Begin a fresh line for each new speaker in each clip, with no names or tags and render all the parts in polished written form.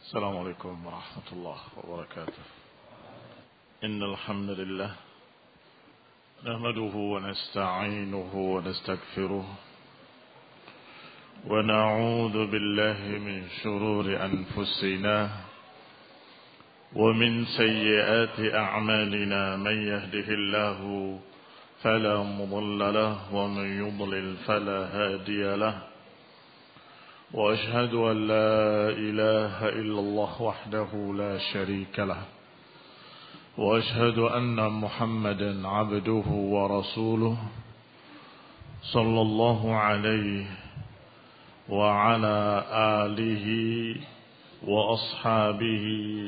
السلام عليكم ورحمة الله وبركاته. إن الحمد لله نحمده ونستعينه ونستغفره ونعوذ بالله من شرور أنفسنا ومن سيئات أعمالنا. من يهده الله فلا مضل له ومن يضلل فلا هادي له. وأشهد أن لا إله إلا الله وحده لا شريك له. وأشهد أن محمدا عبده ورسوله صلى الله عليه وعلى آله وأصحابه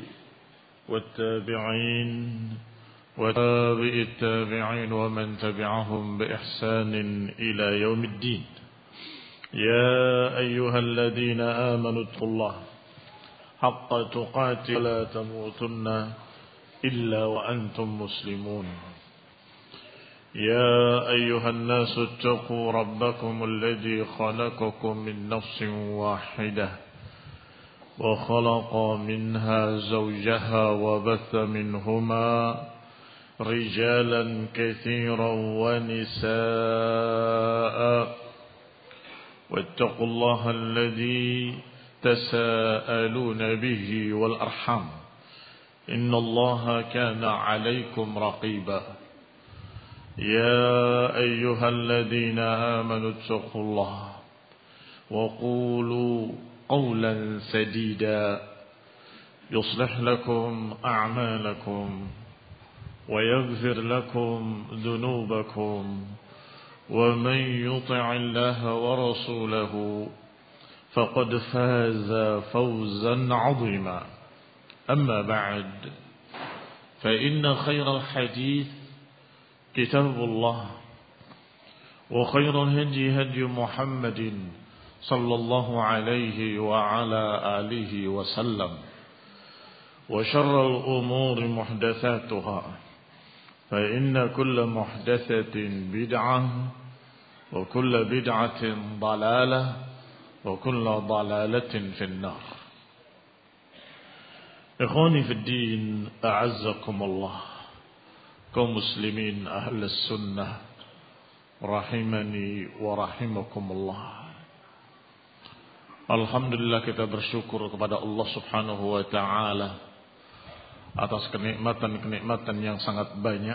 والتابعين وتابع التابعين ومن تبعهم بإحسان إلى يوم الدين. يا أيها الذين آمنوا اتقوا الله حق تقاته ولا تموتن إلا وأنتم مسلمون. يا أيها الناس اتقوا ربكم الذي خلقكم من نفس واحدة وخلق منها زوجها وبث منهما رجالا كثيرا ونساء. واتقوا الله الذي تساءلون به والأرحام إن الله كان عليكم رقيبا. يا أيها الذين آمنوا اتقوا الله وقولوا قولا سديدا يصلح لكم أعمالكم ويغفر لكم ذنوبكم. ومن يطع الله ورسوله فقد فاز فوزا عظيما. أما بعد فإن خير الحديث كتاب الله وخير الهدي هدي محمد صلى الله عليه وعلى آله وسلم. وشر الأمور محدثاتها فإن كل محدثة بدعة وكل بدعة ضلالة وكل ضلالة في النار. إخواني في الدين أعزكم الله. kaum muslimin ahlus sunnah rahimani wa rahimakumullah. Alhamdulillah, kita bersyukur kepada Allah subhanahu wa ta'ala atas kenikmatan-kenikmatan yang sangat banyak.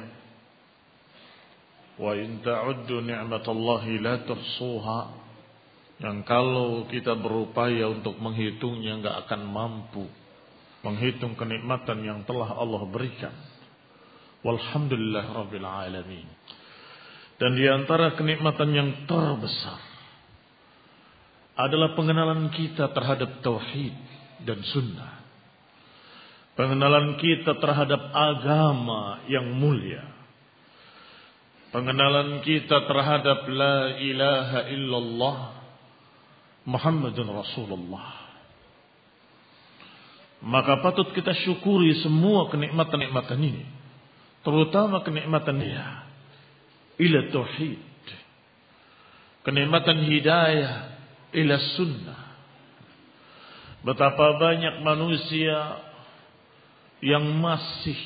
Wa in ta'uddu ni'matallahi la tuhsuha. Yang kalau kita berupaya untuk menghitungnya enggak akan mampu menghitung kenikmatan yang telah Allah berikan. Walhamdulillah rabbil alamin. Dan di antara kenikmatan yang terbesar adalah pengenalan kita terhadap tauhid dan sunnah. Pengenalan kita terhadap agama yang mulia. Pengenalan kita terhadap la ilaha illallah Muhammadun Rasulullah. Maka patut kita syukuri semua kenikmatan-kenikmatan ini. Terutama kenikmatan dia ila tauhid. Kenikmatan hidayah ila sunnah. Betapa banyak manusia yang masih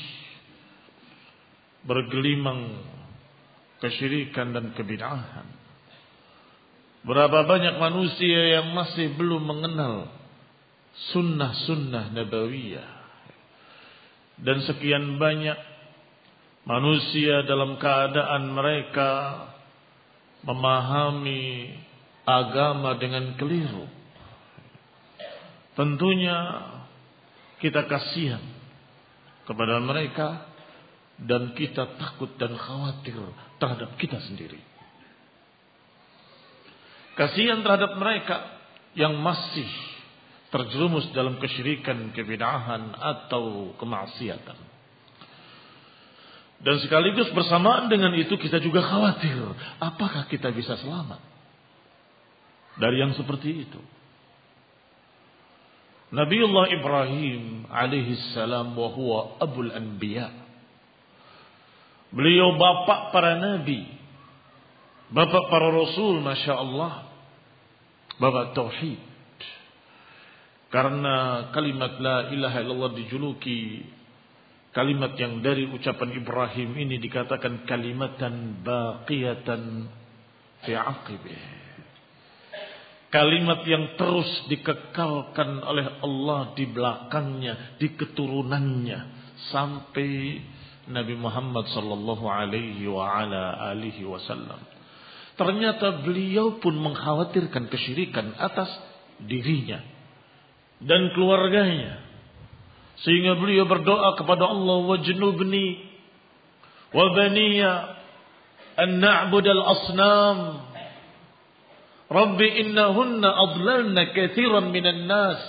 bergelimang kesyirikan dan kebid'ahan. Berapa banyak manusia yang masih belum mengenal sunnah-sunnah nabawiyah. Dan sekian banyak manusia dalam keadaan mereka memahami agama dengan keliru. Tentunya kita kasihan kepada mereka dan kita takut dan khawatir terhadap kita sendiri. Kasihan terhadap mereka yang masih terjerumus dalam kesyirikan, kebid'ahan atau kemaksiatan. Dan sekaligus bersamaan dengan itu kita juga khawatir, apakah kita bisa selamat dari yang seperti itu. Nabiullah Ibrahim alaihi salam wa huwa abul anbiya. Beliau bapak para nabi, bapak para rasul, masya Allah, bapak tauhid. Karena kalimat la ilaha illallah dijuluki kalimat yang dari ucapan Ibrahim ini dikatakan kalimatan baqiyatan fi aqibih. Kalimat yang terus dikekalkan oleh Allah di belakangnya, di keturunannya sampai Nabi Muhammad sallallahu alaihi wa ala alihi wasallam. Ternyata beliau pun mengkhawatirkan kesyirikan atas dirinya dan keluarganya. Sehingga beliau berdoa kepada Allah, wajnubni wa baniya an na'budal asnam. Rabbi innahunna adlalna katsiran minan nas.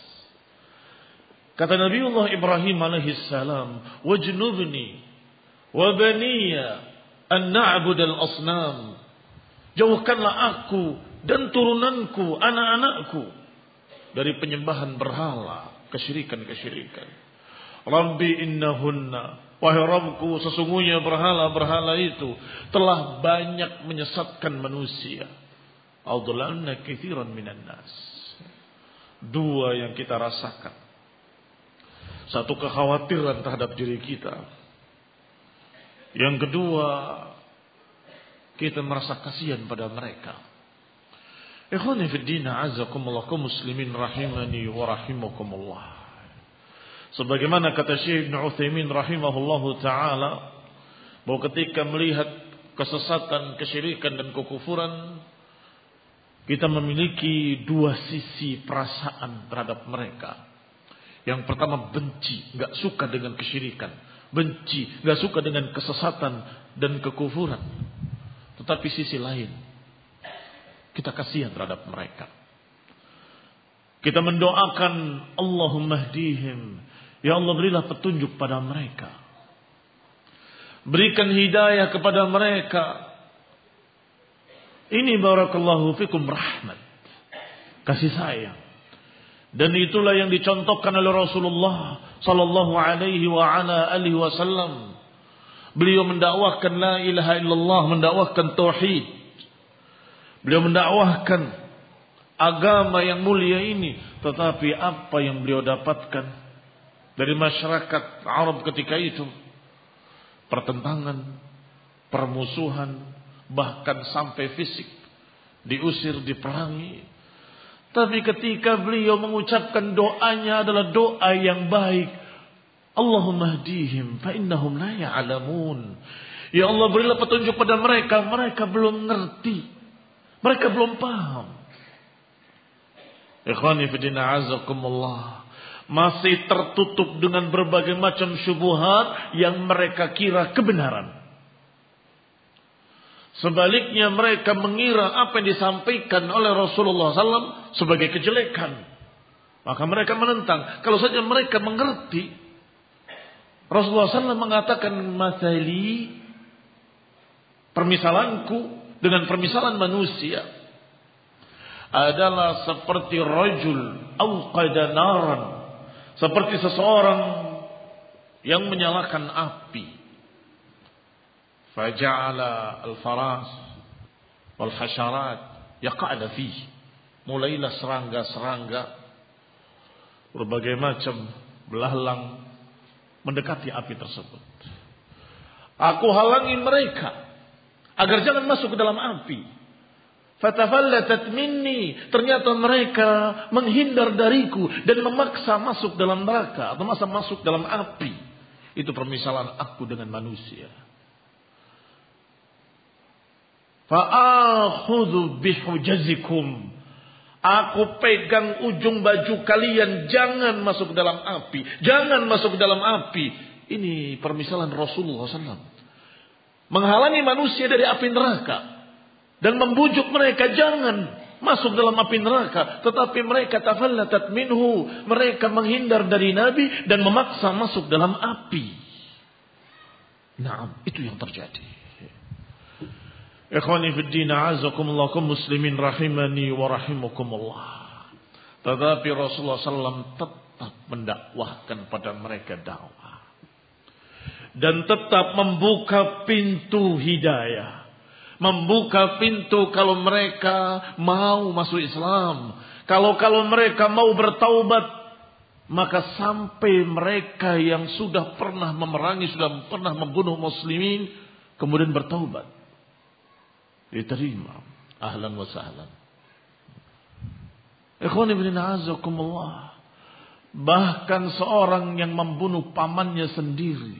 Kata Nabiullah Ibrahim alaihi salam, wajnubni wa baniya an na'budal asnam. Jauhkanlah aku dan turunanku, anak-anakku dari penyembahan berhala, kesyirikan-kesyirikan. Rabbi innahunna, wahai Rabbku, sesungguhnya berhala-berhala itu telah banyak menyesatkan manusia. Adlalna katsiran minan nas. Dua yang kita rasakan. Satu, kekhawatiran terhadap diri kita. Yang kedua, kita merasa kasihan pada mereka. Ikhwani fi din, a'azzakumullah, kaum muslimin rahimani wa rahimakumullah. Sebagaimana kata Syekh Ibn Utsaimin rahimahullahu taala, bahwa ketika melihat kesesatan, kesyirikan dan kekufuran, kita memiliki dua sisi perasaan terhadap mereka. Yang pertama, benci, enggak suka dengan kesyirikan, benci, enggak suka dengan kesesatan dan kekufuran. Tetapi sisi lain, kita kasihan terhadap mereka. Kita mendoakan, Allahumma hdihim, ya Allah berilah petunjuk pada mereka. Berikan hidayah kepada mereka. Ini barakallahu fikum rahmat, kasih sayang. Dan itulah yang dicontohkan oleh Rasulullah sallallahu alaihi wa ala alihi wasallam. Beliau mendakwahkan la ilaha illallah, mendakwahkan tauhid. Beliau mendakwahkan agama yang mulia ini. Tetapi apa yang beliau dapatkan dari masyarakat Arab ketika itu? Pertentangan, permusuhan, bahkan sampai fisik. Diusir, diperangi. Tapi ketika beliau mengucapkan doanya adalah doa yang baik. Allahumma hdihim fa innahum la ya'lamun. Ya Allah, berilah petunjuk pada mereka, mereka belum ngerti. Mereka belum paham. Ikhwani fi din, a'azzakumullah. Masih tertutup dengan berbagai macam syubhat yang mereka kira kebenaran. Sebaliknya mereka mengira apa yang disampaikan oleh Rasulullah SAW sebagai kejelekan. Maka mereka menentang. Kalau saja mereka mengerti, Rasulullah SAW mengatakan, masali, permisalanku dengan permisalan manusia adalah seperti rajul auqada naran, seperti seseorang yang menyalakan api. Faja'ala al-faras wal hasyarat yaqa'na fihi. Mulailah serangga-serangga berbagai macam belalang mendekati api tersebut. Aku halangi mereka agar jangan masuk ke dalam api. Fatafallatat minni, ternyata mereka menghindar dariku dan memaksa masuk dalam neraka atau masuk dalam api. Itu permisalan aku dengan manusia. Fa'akhudhu bihujazikum, aku pegang ujung baju kalian, jangan masuk ke dalam api, jangan masuk ke dalam api. Ini permisalan Rasulullah SAW. Menghalangi manusia dari api neraka dan membujuk mereka jangan masuk dalam api neraka, tetapi mereka tafallatat minhu, mereka menghindar dari Nabi dan memaksa masuk dalam api. Naam, itu yang terjadi. Ikhwani fid din, a'azzakumullah, kaum muslimin rahimani wa rahimakumullah. Tetapi Rasulullah SAW tetap mendakwahkan pada mereka dakwah. Dan tetap membuka pintu hidayah. Membuka pintu kalau mereka mau masuk Islam. Kalau mereka mau bertaubat, maka sampai mereka yang sudah pernah memerangi, sudah pernah membunuh muslimin, kemudian bertaubat, diterima. Ahlan wa sahlan. Ikhwan ibn a'azakumullah. Bahkan seorang yang membunuh pamannya sendiri,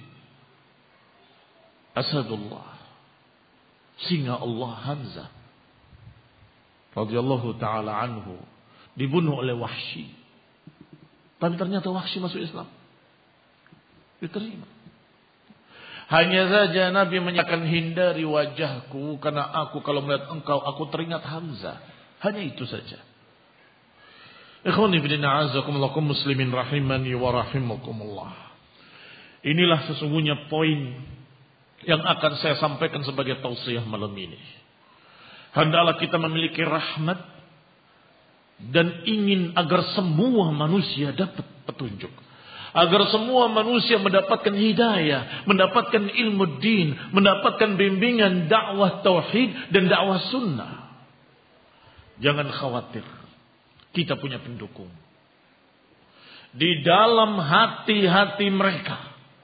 Asadullah, singa Allah Hamzah radhiyallahu taala anhu, dibunuh oleh Wahsy. Tapi ternyata Wahsy masuk Islam, diterima. Hanya saja Nabi menyatakan, hindari wajahku karena aku kalau melihat engkau aku teringat Hamzah. Hanya itu saja. Ikhwani fillah a'azakumullah muslimin rahimani wa rahimakumullah. Inilah sesungguhnya poin yang akan saya sampaikan sebagai tausiah malam ini. Hendaklah kita memiliki rahmat dan ingin agar semua manusia dapat petunjuk. Agar semua manusia mendapatkan hidayah, mendapatkan ilmu din, mendapatkan bimbingan dakwah tauhid dan dakwah sunnah. Jangan khawatir, kita punya pendukung. Di dalam hati-hati mereka,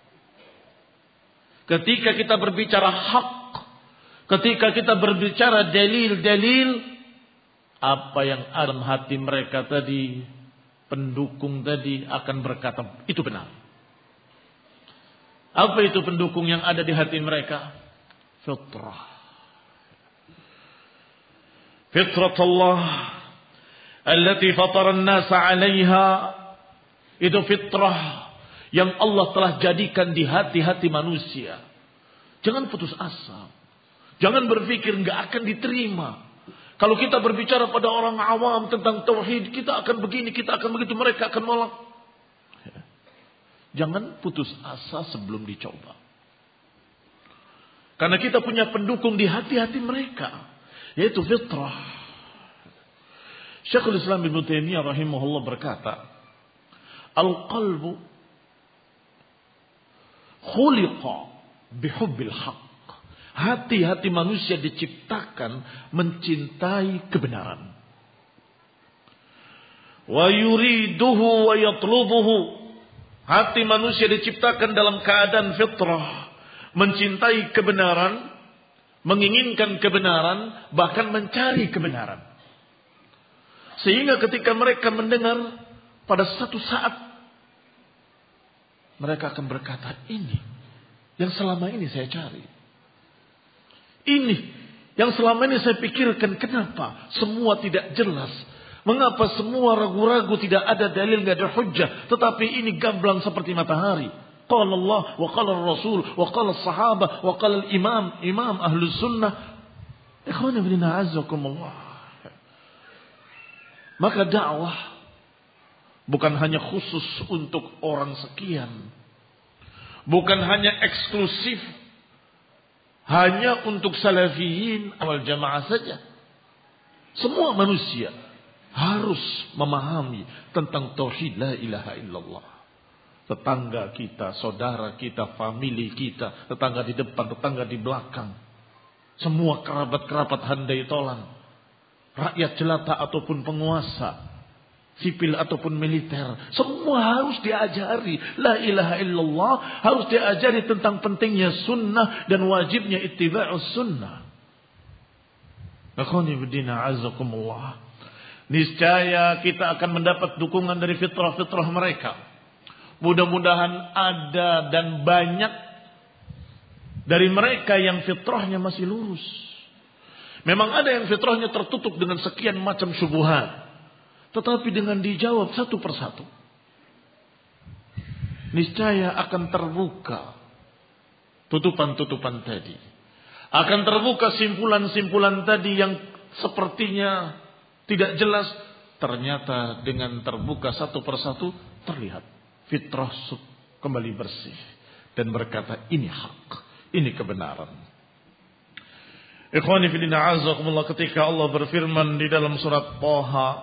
ketika kita berbicara hak, ketika kita berbicara dalil-dalil, apa yang ada dalam hati mereka tadi, pendukung tadi akan berkata, itu benar. Apa itu pendukung yang ada di hati mereka? Fitrah. Fitratullah allati fatara an-nasa 'alaiha. Itu fitrah yang Allah telah jadikan di hati-hati manusia. Jangan putus asa. Jangan berpikir enggak akan diterima. Kalau kita berbicara pada orang awam tentang tauhid, kita akan begini, kita akan begitu, mereka akan menolak. Jangan putus asa sebelum dicoba. Karena kita punya pendukung di hati-hati mereka, yaitu fitrah. Syekhul Islam Ibnu Taimiyah rahimahullah berkata, al-qalbu khuliqa bihubbil haqq. Hati-hati manusia diciptakan mencintai kebenaran. Wa yuriduhu wa yatlubuhu. Hati manusia diciptakan dalam keadaan fitrah, mencintai kebenaran, menginginkan kebenaran, bahkan mencari kebenaran. Sehingga ketika mereka mendengar, pada satu saat mereka akan berkata, ini yang selama ini saya cari. Ini yang selama ini saya pikirkan, kenapa semua tidak jelas? Mengapa semua ragu-ragu, tidak ada dalil, tidak ada hujjah, tetapi ini gamblang seperti matahari. Qala Allah wa qala Rasul wa qala sahabah wa qala imam ahlus sunnah. Ikhwana fillah a'azakumullah. Maka dakwah bukan hanya khusus untuk orang sekian, bukan hanya eksklusif hanya untuk salafiyin awal jamaah saja. Semua manusia harus memahami tentang tauhid la ilaha illallah. Tetangga kita, saudara kita, famili kita, tetangga di depan, tetangga di belakang, semua kerabat-kerabat handai tolan, rakyat jelata ataupun penguasa, sipil ataupun militer, semua harus diajari la ilaha illallah, harus diajari tentang pentingnya sunnah dan wajibnya ittiba'us sunnah. Akhwani bidina azakumullah. Niscaya kita akan mendapat dukungan dari fitrah-fitrah mereka. Mudah-mudahan ada dan banyak dari mereka yang fitrahnya masih lurus. Memang ada yang fitrahnya tertutup dengan sekian macam syubhat. Tetapi dengan dijawab satu persatu, niscaya akan terbuka tutupan-tutupan tadi. Akan terbuka simpulan-simpulan tadi yang sepertinya tidak jelas. Ternyata dengan terbuka satu persatu terlihat fitrah kembali bersih. Dan berkata, ini hak, ini kebenaran. Ikhwani fillah a'azakumullah, ketika Allah berfirman di dalam surat Thaha,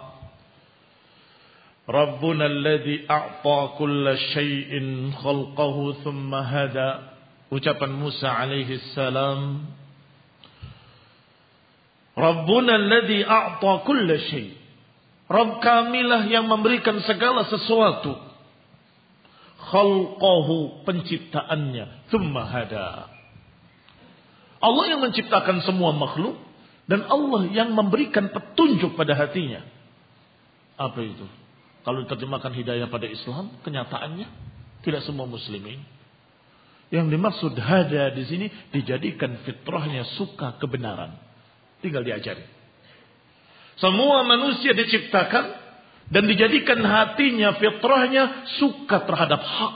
Rabbuna alladhi a'ta kulla syai'in khalqahu thumma hada. Ucapan Musa alaihi salam. Rabbuna alladhi a'ta kulla syai'. Rabb kamilah yang memberikan segala sesuatu. Khalqahu, penciptaannya, thumma hada. Allah yang menciptakan semua makhluk dan Allah yang memberikan petunjuk pada hatinya. Apa itu? Kalau diterjemahkan hidayah pada Islam, kenyataannya tidak semua muslimin. Yang dimaksud hada di sini dijadikan fitrahnya suka kebenaran. Tinggal diajari. Semua manusia diciptakan dan dijadikan hatinya, fitrahnya suka terhadap hak.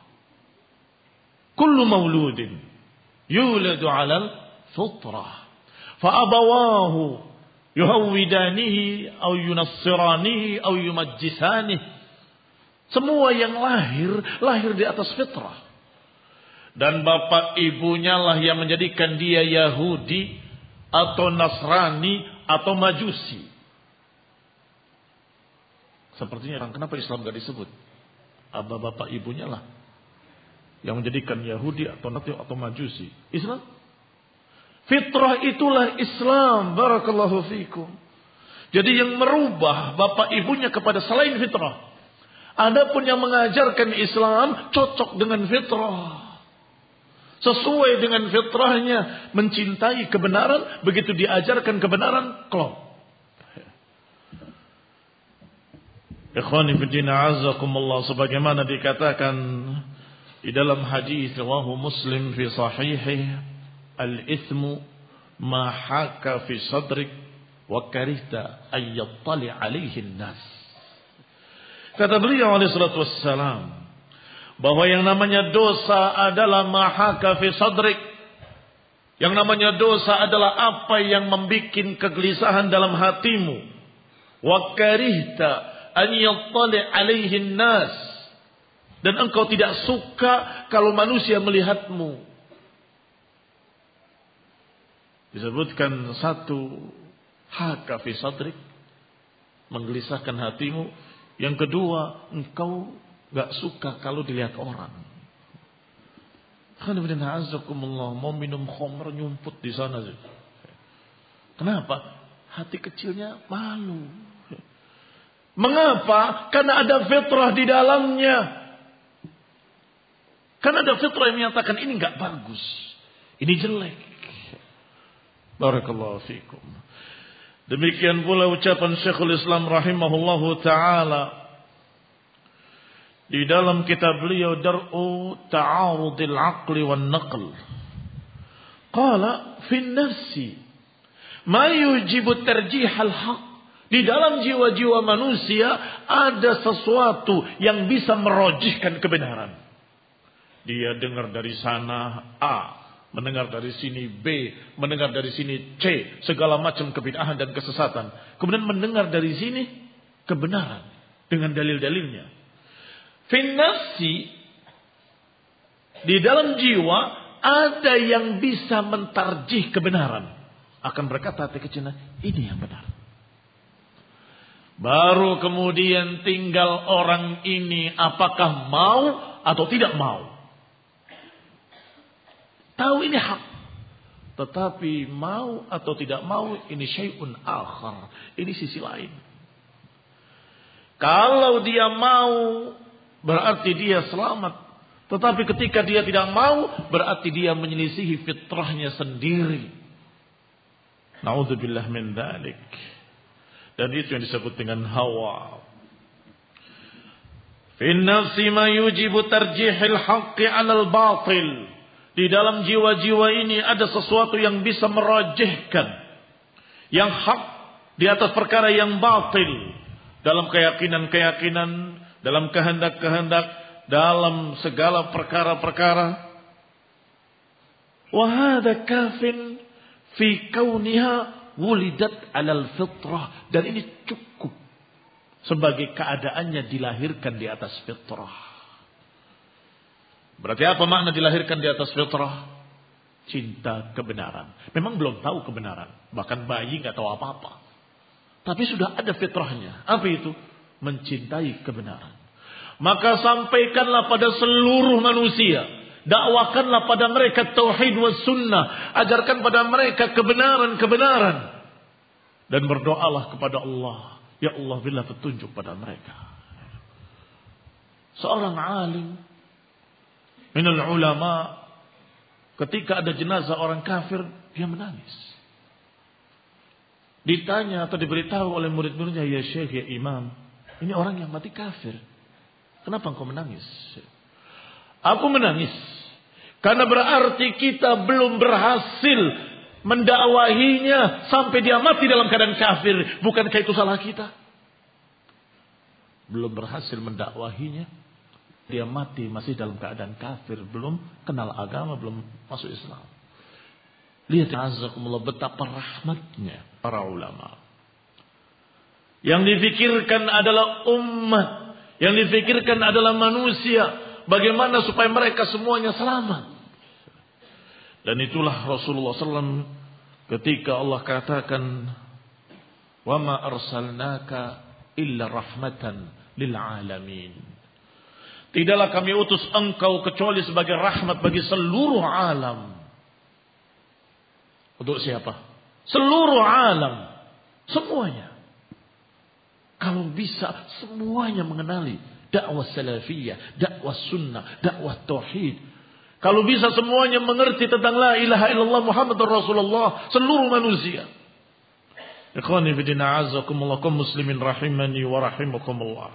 Kullu mauludin yuladu 'alal fitrah. Fa abawahu yuhawwidanihi aw yunassiranihi aw yumajjisanihi. Semua yang lahir di atas fitrah. Dan bapak ibunya lah yang menjadikan dia Yahudi atau Nasrani atau Majusi. Sepertinya kenapa Islam gak disebut? Bapak ibunya lah yang menjadikan Yahudi atau Majusi. Islam? Fitrah itulah Islam. Barakallahu fikum. Jadi yang merubah bapak ibunya kepada selain fitrah. Adapun yang mengajarkan Islam cocok dengan fitrah. Sesuai dengan fitrahnya, mencintai kebenaran, begitu diajarkan kebenaran, klop. Ikhwani fiddina azakumullah, sebagaimana dikatakan di dalam hadis rawahu Muslim fi sahihih, al-ithmu ma haka fi sadrik wa karihta ay yattali alaihi an-nas. Kata beliau alaihi salatu wassalam, bahwa yang namanya dosa adalah mahaka fi sadrik. Yang namanya dosa adalah apa yang membuat kegelisahan dalam hatimu. Wa karihta an yattali alaihi nas. Dan engkau tidak suka kalau manusia melihatmu. Disebutkan satu, haka fi sadrik, menggelisahkan hatimu. Yang kedua, engkau gak suka kalau dilihat orang. Mau minum khamr nyumput di sana. Kenapa? Hati kecilnya malu. Mengapa? Karena ada fitrah di dalamnya. Karena ada fitrah yang menyatakan ini gak bagus. Ini jelek. Barakallahu fikum. Demikian pula ucapan Syekhul Islam rahimahullahu ta'ala di dalam kitab beliau Dar'u Ta'arudil Aqli wan Naql. Qala fin nafsi ma yujibu tarjihal haq. Di dalam jiwa-jiwa manusia ada sesuatu yang bisa merojihkan kebenaran. Dia dengar dari sana A, mendengar dari sini B, mendengar dari sini C, segala macam kebid'ahan dan kesesatan. Kemudian mendengar dari sini kebenaran dengan dalil-dalilnya. Finnafsi, di dalam jiwa ada yang bisa mentarjih kebenaran. Akan berkata hati kecilnya, ini yang benar. Baru kemudian tinggal orang ini apakah mau atau tidak mau. Tahu ini hak. Tetapi mau atau tidak mau ini syai'un akhar. Ini sisi lain. Kalau dia mau, berarti dia selamat. Tetapi ketika dia tidak mau, berarti dia menyelisihi fitrahnya sendiri. Na'udzubillah min dzalik. Dan itu yang disebut dengan hawa. Fin nafsi ma yujibu tarjihil haqqi 'alal batil. Di dalam jiwa-jiwa ini ada sesuatu yang bisa merajihkan yang hak di atas perkara yang batil. Dalam keyakinan-keyakinan, dalam kehendak-kehendak, dalam segala perkara-perkara. Wa hadza kafin fi kauniha wulidat 'alal fitrah, dan ini cukup sebagai keadaannya dilahirkan di atas fitrah. Berarti apa makna dilahirkan di atas fitrah? Cinta kebenaran. Memang belum tahu kebenaran, bahkan bayi enggak tahu apa-apa. Tapi sudah ada fitrahnya. Apa itu? Mencintai kebenaran. Maka sampaikanlah pada seluruh manusia, dakwakanlah pada mereka tauhid was sunnah, ajarkan pada mereka kebenaran-kebenaran, dan berdoalah kepada Allah Ya Allah, berilah petunjuk pada mereka. Seorang alim minal ulama, ketika ada jenazah orang kafir, dia menangis. Ditanya atau diberitahu oleh murid-muridnya, ya syekh, ya imam, ini orang yang mati kafir, kenapa engkau menangis? Aku menangis karena berarti kita belum berhasil mendakwahinya sampai dia mati dalam keadaan kafir. Bukankah itu salah kita? Belum berhasil mendakwahinya, dia mati masih dalam keadaan kafir, belum kenal agama, belum masuk Islam. Lihat azakumullah betapa rahmatnya para ulama. Yang difikirkan adalah umat, yang difikirkan adalah manusia. Bagaimana supaya mereka semuanya selamat. Dan itulah Rasulullah SAW ketika Allah katakan, wa ma arsalnaka illa rahmatan lil alamin. Tidaklah kami utus engkau kecuali sebagai rahmat bagi seluruh alam. Untuk siapa? Seluruh alam. Semuanya. Kalau bisa semuanya mengenali dakwah salafiyah, dakwah sunnah, dakwah tauhid. Kalau bisa semuanya mengerti tentang la ilaha illallah Muhammadur Rasulullah, seluruh manusia. Ikhwani fi din, a'azzakumullah, kaum muslimin rahimani wa rahimakumullah.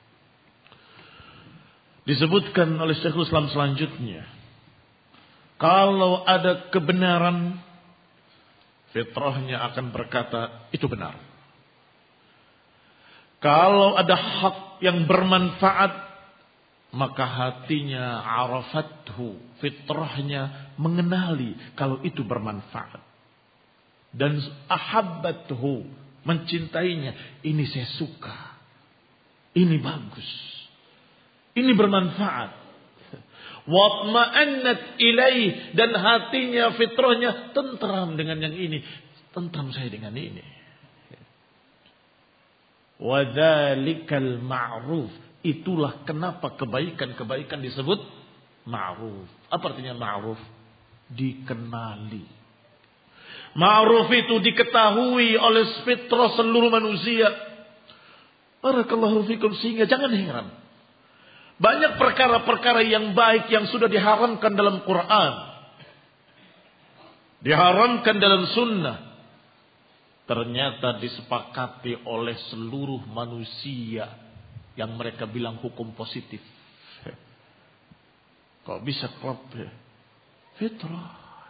Disebutkan oleh Syekhul Islam selanjutnya, kalau ada kebenaran, fitrahnya akan berkata itu benar. Kalau ada hak yang bermanfaat, maka hatinya arafathu, fitrahnya mengenali kalau itu bermanfaat. Dan ahabbathu, mencintainya. Ini saya suka. Ini bagus. Ini bermanfaat. Watma'annat ilaih, dan hatinya, fitrahnya tentram dengan yang ini. Tentram saya dengan ini. Wadzalikal ma'ruf. Itulah kenapa kebaikan-kebaikan disebut ma'ruf. Apa artinya ma'ruf? Dikenali. Ma'ruf itu diketahui oleh fitrah seluruh manusia. Barakallahu fikum, sehingga jangan heran. Banyak perkara-perkara yang baik yang sudah diharamkan dalam Quran, diharamkan dalam sunnah, ternyata disepakati oleh seluruh manusia yang mereka bilang hukum positif. Kok bisa klop ya? Fitrah.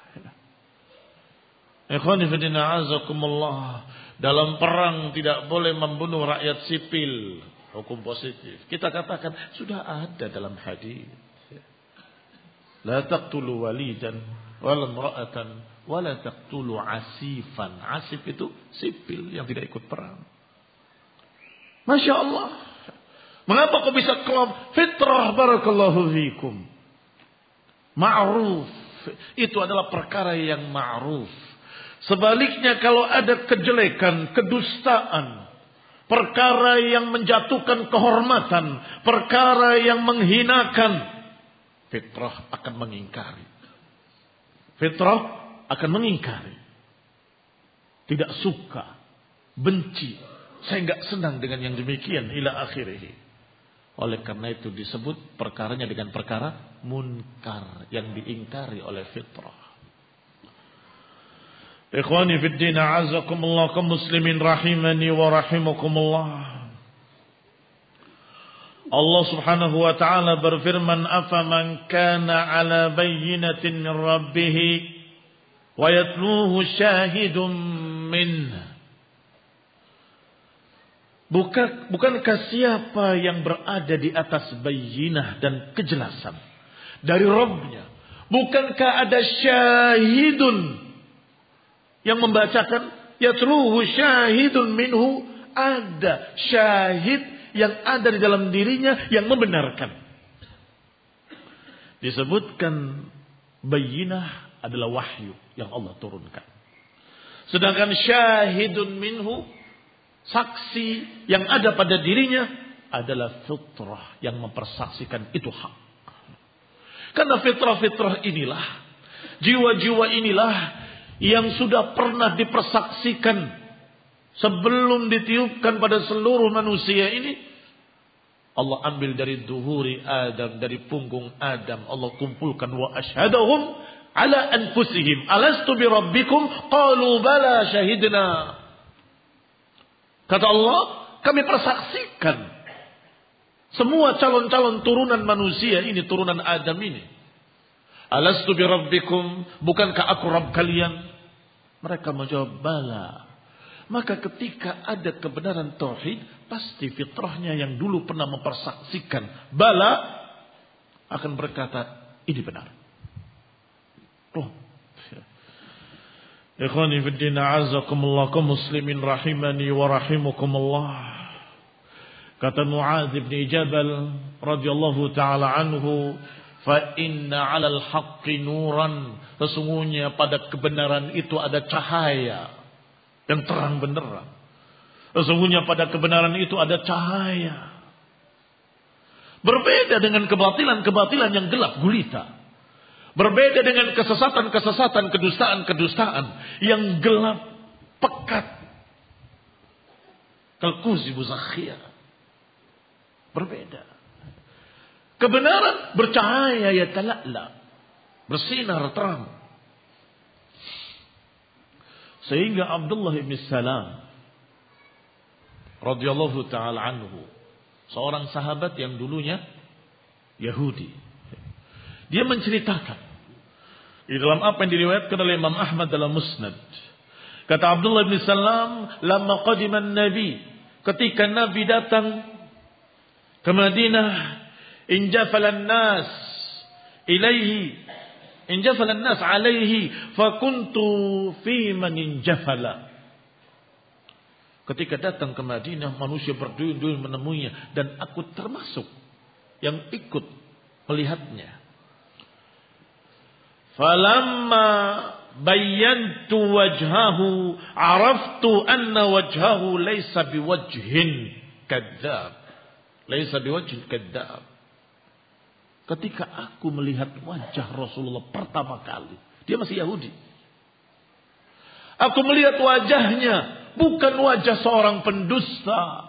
Ikhwani fi din, a'azakumullah. Dalam perang tidak boleh membunuh rakyat sipil. Hukum positif. Kita katakan sudah ada dalam hadis. La taqtulu walidan wala imra'atan wala taqtulu asifan. Asif itu sipil yang tidak ikut perang. Masya Allah. Mengapa kok bisa klop? Fitrah, barakallahu fikum. Ma'ruf. Itu adalah perkara yang ma'ruf. Sebaliknya kalau ada kejelekan, kedustaan, perkara yang menjatuhkan kehormatan, perkara yang menghinakan, fitrah akan mengingkari. Fitrah akan mengingkari. Tidak suka, benci. Saya enggak senang dengan yang demikian ila akhirih. Oleh karena itu disebut perkaranya dengan perkara munkar yang diingkari oleh fitrah. Ikhwani fid din, a'azakumullah, kaum muslimin rahimani wa rahimakumullah. Allah Subhanahu wa taala berfirman, "Afaman kana 'ala bayyinatin min rabbih wa yatluhu syahidun minhu." Bukankah siapa yang berada di atas bayyinah dan kejelasan dari Rabbnya? Bukankah ada syahidun yang membacakan, yatluhu syahidun minhu, ada syahid yang ada di dalam dirinya yang membenarkan. Disebutkan bayyinah adalah wahyu yang Allah turunkan. Sedangkan syahidun minhu, saksi yang ada pada dirinya adalah fitrah yang mempersaksikan itu hak. Karena fitrah-fitrah inilah, jiwa-jiwa inilah yang sudah pernah dipersaksikan Sebelum ditiupkan pada seluruh manusia ini, Allah ambil dari duhuri Adam, dari punggung Adam. Allah kumpulkan wa asyhadahum ala anfusihim alastu bi rabbikum qalu bala syahidna. Kata Allah, kami persaksikan semua calon-calon turunan manusia ini, turunan Adam ini. Alastu bi rabbikum, bukankah aku Rabb kalian? Mereka menjawab bala. Maka ketika ada kebenaran tauhid, pasti fitrahnya yang dulu pernah mempersaksikan bala akan berkata ini benar. Oh. Ikhwani fi din, a'azzakumullah, kaum muslimin rahimani wa rahimakumullah. Kata Muadz bin Jabal radhiyallahu taala anhu, fa inna 'alal haqqi nuran, sesungguhnya pada kebenaran itu ada cahaya yang terang benderang. Sesungguhnya pada kebenaran itu ada cahaya. Berbeda dengan kebatilan-kebatilan yang gelap gulita. Berbeda dengan kesesatan-kesesatan, kedustaan-kedustaan yang gelap pekat. Kalkuzi buzakhir. Berbeda. Kebenaran bercahaya, ya tala'la, bersinar terang. Sehingga Abdullah bin Salam radhiyallahu taala anhu, seorang sahabat yang dulunya Yahudi, dia menceritakan di dalam apa yang diriwayatkan oleh Imam Ahmad dalam Musnad. Kata Abdullah bin Salam, "Lamma qadima an-nabi", ketika Nabi datang ke Madinah, injafala an-nas ilaihi, injafala an-nas alaihi fakuntu fi man injafala. Ketika datang ke Madinah, manusia berduyun-duyun menemuinya dan aku termasuk yang ikut melihatnya. Falamma bayyantu wajhahu araftu anna wajhahu laysa biwajhin kadzdzab. Laysa biwajhin kadzdzab. Ketika aku melihat wajah Rasulullah pertama kali, dia masih Yahudi. Aku melihat wajahnya, bukan wajah seorang pendusta.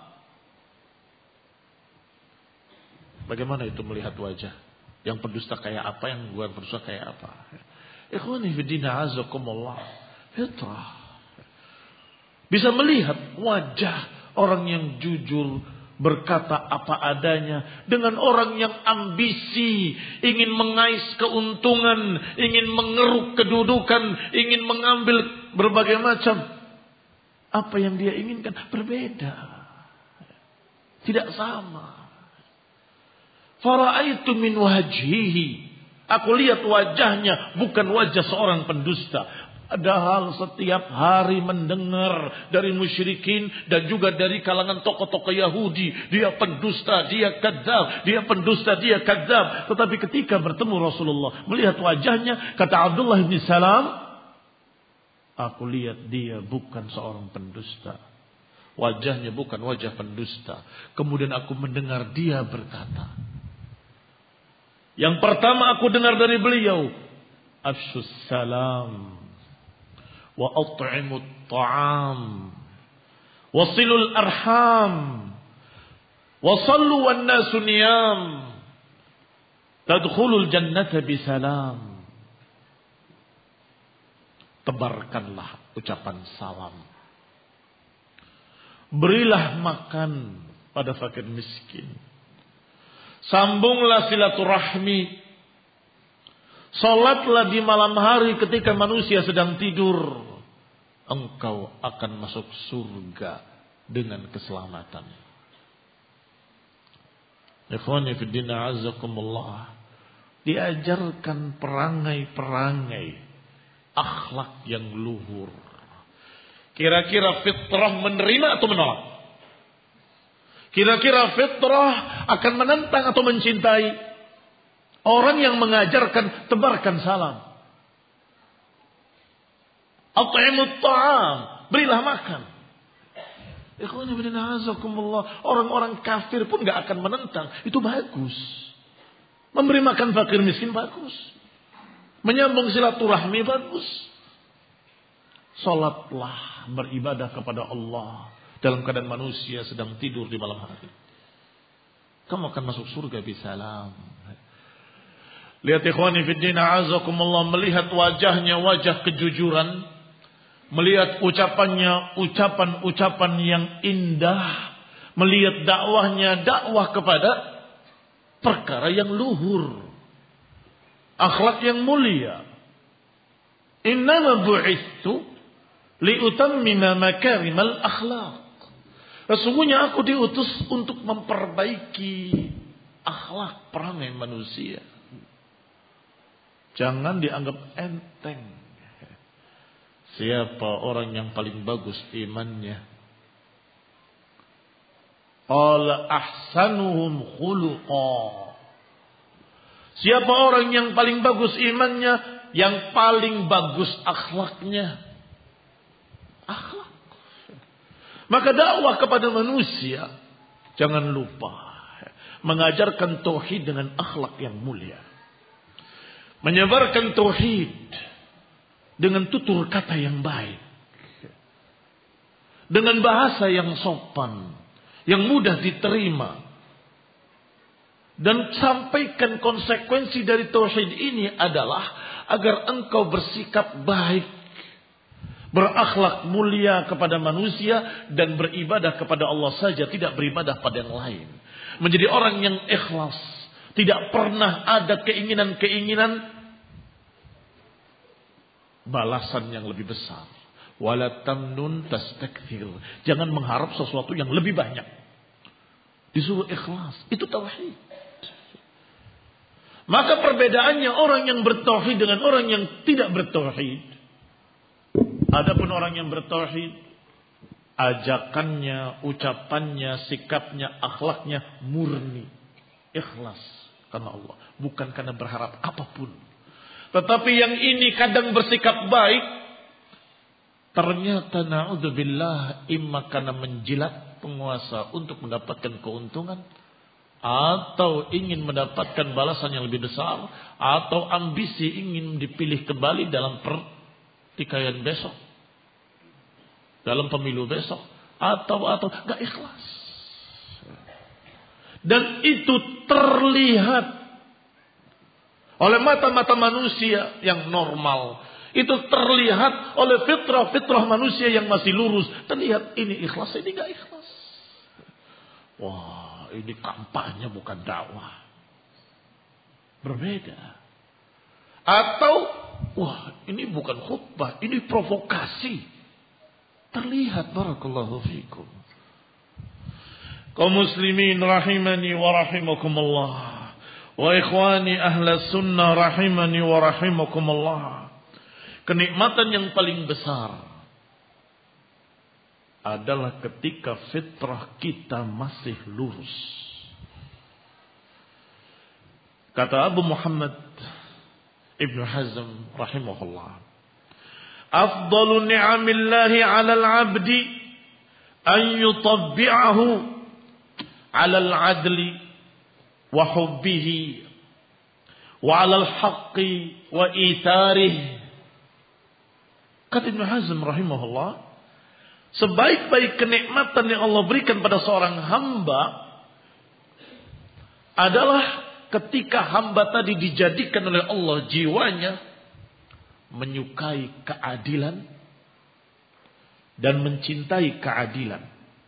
Bagaimana itu melihat wajah? Yang pendusta kayak apa, yang bukan pendusta kayak apa? Ikhwani fi din, azakumullah. Fitrah. Bisa melihat wajah orang yang jujur, berkata apa adanya, dengan orang yang ambisi, ingin mengais keuntungan, ingin mengeruk kedudukan, ingin mengambil berbagai macam. Apa yang dia inginkan berbeda, tidak sama. Fara'aitu min wajhihi, aku lihat wajahnya bukan wajah seorang pendusta. Padahal setiap hari mendengar dari musyrikin dan juga dari kalangan tokoh-tokoh Yahudi, dia pendusta, dia kadzdzab, dia pendusta, dia kadzdzab. Tetapi ketika bertemu Rasulullah, melihat wajahnya, kata Abdullah bin Salam, aku lihat dia bukan seorang pendusta. Wajahnya bukan wajah pendusta. Kemudian aku mendengar dia berkata, yang pertama aku dengar dari beliau, afshus salam wa at'imut ta'am wa silul arham wa sallu wan nasu niyam tadkhulul jannata bisalam. Tebarkanlah ucapan salam, berilah makan pada fakir miskin, sambunglah silaturahmi, salatlah di malam hari ketika manusia sedang tidur, engkau akan masuk surga dengan keselamatan. Ikhwani fi din, azakumullah. Diajarkan perangai-perangai akhlak yang luhur. Kira-kira fitrah menerima atau menolak? Kira-kira fitrah akan menentang atau mencintai orang yang mengajarkan tebarkan salam? At'imut ta'am, berilah makan. Ikhwani bin azakumullah, orang-orang kafir pun gak akan menentang. Itu bagus. Memberi makan fakir miskin bagus. Menyambung silaturahmi bagus. Salatlah, beribadah kepada Allah dalam keadaan manusia sedang tidur di malam hari. Kamu akan masuk surga bisalam. Lihat ikhwani fiddin a'azakumullah, melihat wajahnya wajah kejujuran, melihat ucapannya ucapan-ucapan yang indah, melihat dakwahnya dakwah kepada perkara yang luhur, akhlak yang mulia. Innama bu'ithu liutammima makarimal akhlaq. Sesungguhnya aku diutus untuk memperbaiki akhlak perangai manusia. Jangan dianggap enteng. Siapa orang yang paling bagus imannya? Qala ahsanuhum khuluqa. Siapa orang yang paling bagus imannya? Yang paling bagus akhlaknya. Akhlak. Maka dakwah kepada manusia, jangan lupa mengajarkan tauhid dengan akhlak yang mulia. Menyebarkan tauhid dengan tutur kata yang baik. Dengan bahasa yang sopan, yang mudah diterima. Dan sampaikan konsekuensi dari tauhid ini adalah agar engkau bersikap baik, berakhlak mulia kepada manusia dan beribadah kepada Allah saja, tidak beribadah pada yang lain. Menjadi orang yang ikhlas, tidak pernah ada keinginan-keinginan balasan yang lebih besar. Wala tamnun tastakthir. Jangan mengharap sesuatu yang lebih banyak. Disuruh ikhlas, itu tauhid. Maka perbedaannya orang yang bertauhid dengan orang yang tidak bertauhid. Adapun orang yang bertauhid, ajakannya, ucapannya, sikapnya, akhlaknya murni, ikhlas karena Allah, bukan karena berharap apapun. Tetapi yang ini kadang bersikap baik, ternyata na'udzubillah imma karena menjilat penguasa untuk mendapatkan keuntungan, atau ingin mendapatkan balasan yang lebih besar, atau ambisi ingin dipilih kembali dalam pertikaian besok, dalam pemilu besok, atau gak ikhlas. Dan itu terlihat oleh mata-mata manusia yang normal. Itu terlihat oleh fitrah manusia yang masih lurus. Terlihat ini ikhlas, ini gak ikhlas. Wah, ini kampanye bukan dakwah. Berbeda. Atau, wah ini bukan khutbah, ini provokasi. Terlihat, barakallahu fikum. Kaum muslimin rahimani wa rahimakumullah. Wa ikhwani ahla sunnah rahimani wa rahimakumullah. Kenikmatan yang paling besar adalah ketika fitrah kita masih lurus. Kata Abu Muhammad Ibn Hazm rahimahullah, afdalu ni'amillahi 'alal 'abdi an yutabbi'ahu 'alal 'adli wa hubbihi wa 'alal haqqi wa itarihi. Kata Ibn Hazm rahimahullah, sebaik-baik kenikmatan yang Allah berikan pada seorang hamba adalah ketika hamba tadi dijadikan oleh Allah jiwanya menyukai keadilan dan mencintai keadilan,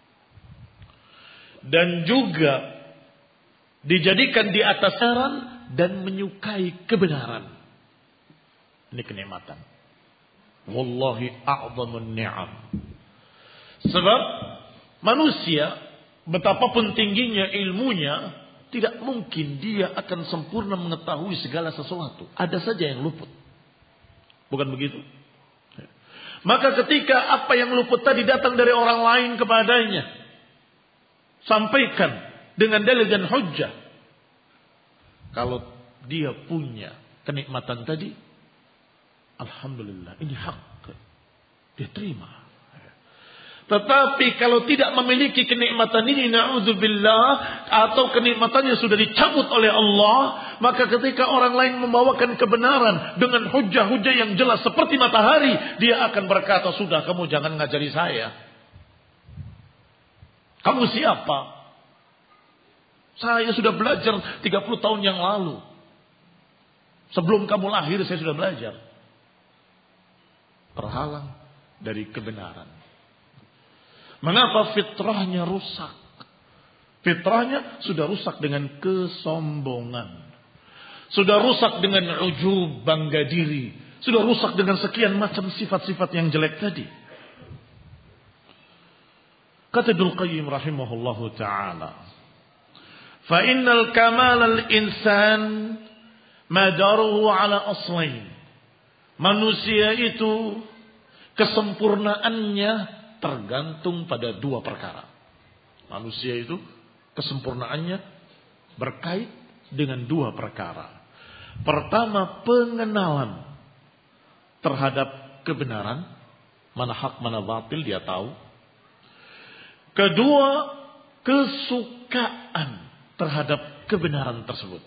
dan juga dijadikan di atas kebenaran dan menyukai kebenaran. Ini kenikmatan. Wallahi a'zamun ni'am. Sebab manusia betapapun tingginya ilmunya, tidak mungkin dia akan sempurna mengetahui segala sesuatu. Ada saja yang luput. Bukan begitu? Maka ketika apa yang luput tadi datang dari orang lain kepadanya, sampaikan dengan dalil dan hujjah. Kalau dia punya kenikmatan tadi, alhamdulillah, ini hak. Dia terima. Tetapi kalau tidak memiliki kenikmatan ini, na'udzubillah, atau kenikmatannya sudah dicabut oleh Allah, maka ketika orang lain membawakan kebenaran dengan hujah-hujah yang jelas seperti matahari, dia akan berkata, sudah kamu jangan ngajari saya. Kamu siapa? Saya sudah belajar 30 tahun yang lalu. Sebelum kamu lahir saya sudah belajar. Terhalang dari kebenaran. Mengapa fitrahnya rusak? Fitrahnya sudah rusak dengan kesombongan. Sudah rusak dengan ujub, bangga diri. Sudah rusak dengan sekian macam sifat-sifat yang jelek tadi. Kata Ibnu Qayyim rahimahullahu ta'ala, fa innal kamal al-insan madaruhu ala aslain. Manusia itu kesempurnaannya tergantung pada dua perkara. Manusia itu kesempurnaannya berkait dengan dua perkara. Pertama, pengenalan terhadap kebenaran, mana hak mana batil dia tahu. Kedua, kesukaan terhadap kebenaran tersebut.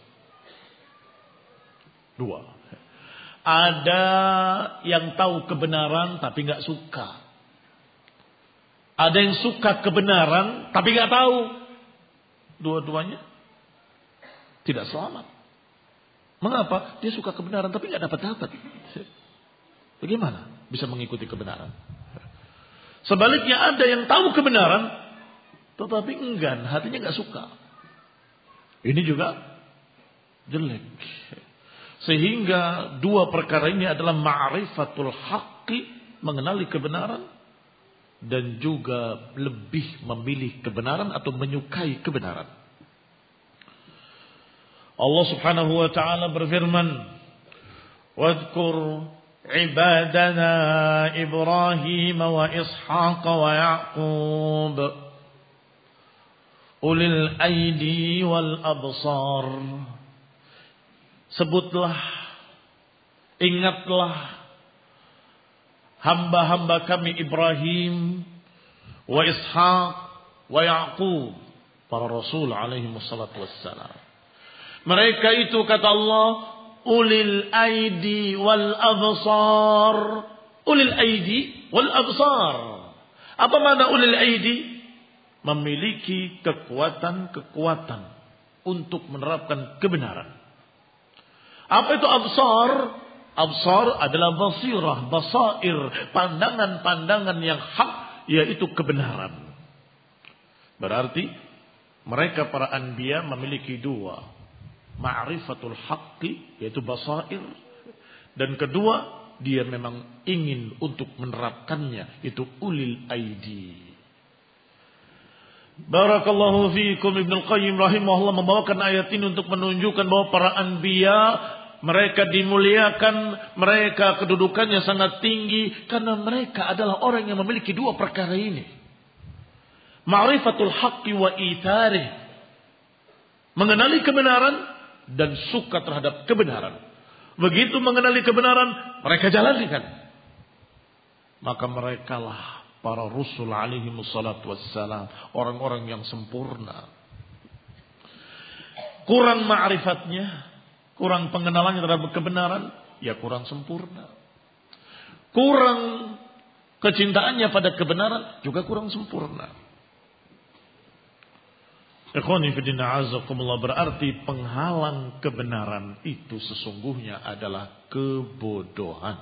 Dua. Ada yang tahu kebenaran tapi nggak suka. Ada yang suka kebenaran tapi nggak tahu. Dua-duanya tidak selamat. Mengapa? Dia suka kebenaran tapi nggak dapat. Bagaimana bisa mengikuti kebenaran? Sebaliknya ada yang tahu kebenaran tetapi enggan, hatinya nggak suka. Ini juga jelek. Sehingga dua perkara ini adalah ma'rifatul haqqi, mengenali kebenaran, dan juga lebih memilih kebenaran atau menyukai kebenaran. Allah Subhanahu wa taala berfirman, "Wadhkur ibadana Ibrahim wa Ishaq wa Ya'qub ulil aidi wal absar." Sebutlah, ingatlah hamba-hamba kami Ibrahim, wa Ishaq, wa Ya'qub, para rasul alaihi wassalatu wassalam. Mereka itu kata Allah, ulil aidi wal absar. Ulil aidi wal absar. Apa makna ulil aidi? Memiliki kekuatan-kekuatan untuk menerapkan kebenaran. Apa itu absar? Absar adalah basirah, basair, pandangan-pandangan yang hak, yaitu kebenaran. Berarti mereka para anbiya memiliki dua, ma'rifatul haqqi, yaitu basair, dan kedua dia memang ingin untuk menerapkannya, itu ulil aidi. Barakallahu fiikum. Ibnu Qayyim rahimahullah membawakan ayat ini untuk menunjukkan bahwa para anbiya mereka dimuliakan, mereka kedudukannya sangat tinggi karena mereka adalah orang yang memiliki dua perkara ini. Ma'rifatul haqqi wa itharih, mengenali kebenaran dan suka terhadap kebenaran. Begitu mengenali kebenaran, mereka jalankan. Maka merekalah para rasul alaihi wassalatu wassalam, orang-orang yang sempurna. Kurang ma'rifatnya, kurang pengenalannya terhadap kebenaran, ya kurang sempurna. Kurang kecintaannya pada kebenaran, juga kurang sempurna. Ikhwani fillah azakumullah, berarti penghalang kebenaran itu sesungguhnya adalah kebodohan.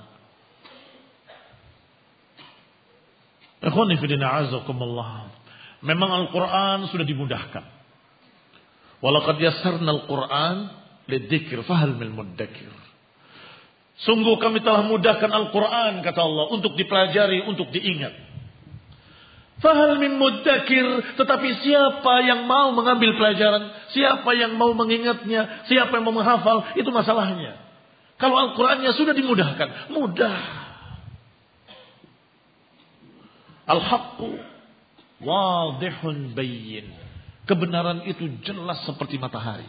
Ikhwani fillah azakumullah, memang Al-Quran sudah dimudahkan. Walaqad yassarna Al-Quran lidzikr fahal min muddakir. Sungguh kami telah mudahkan Al-Quran, kata Allah, untuk dipelajari, untuk diingat. Fahal min muddakir, tetapi siapa yang mau mengambil pelajaran, siapa yang mau mengingatnya, siapa yang mau menghafal, itu masalahnya. Kalau Al-Qurannya sudah dimudahkan, mudah. Al-haqqu wadihun bayyin. Kebenaran itu jelas seperti matahari.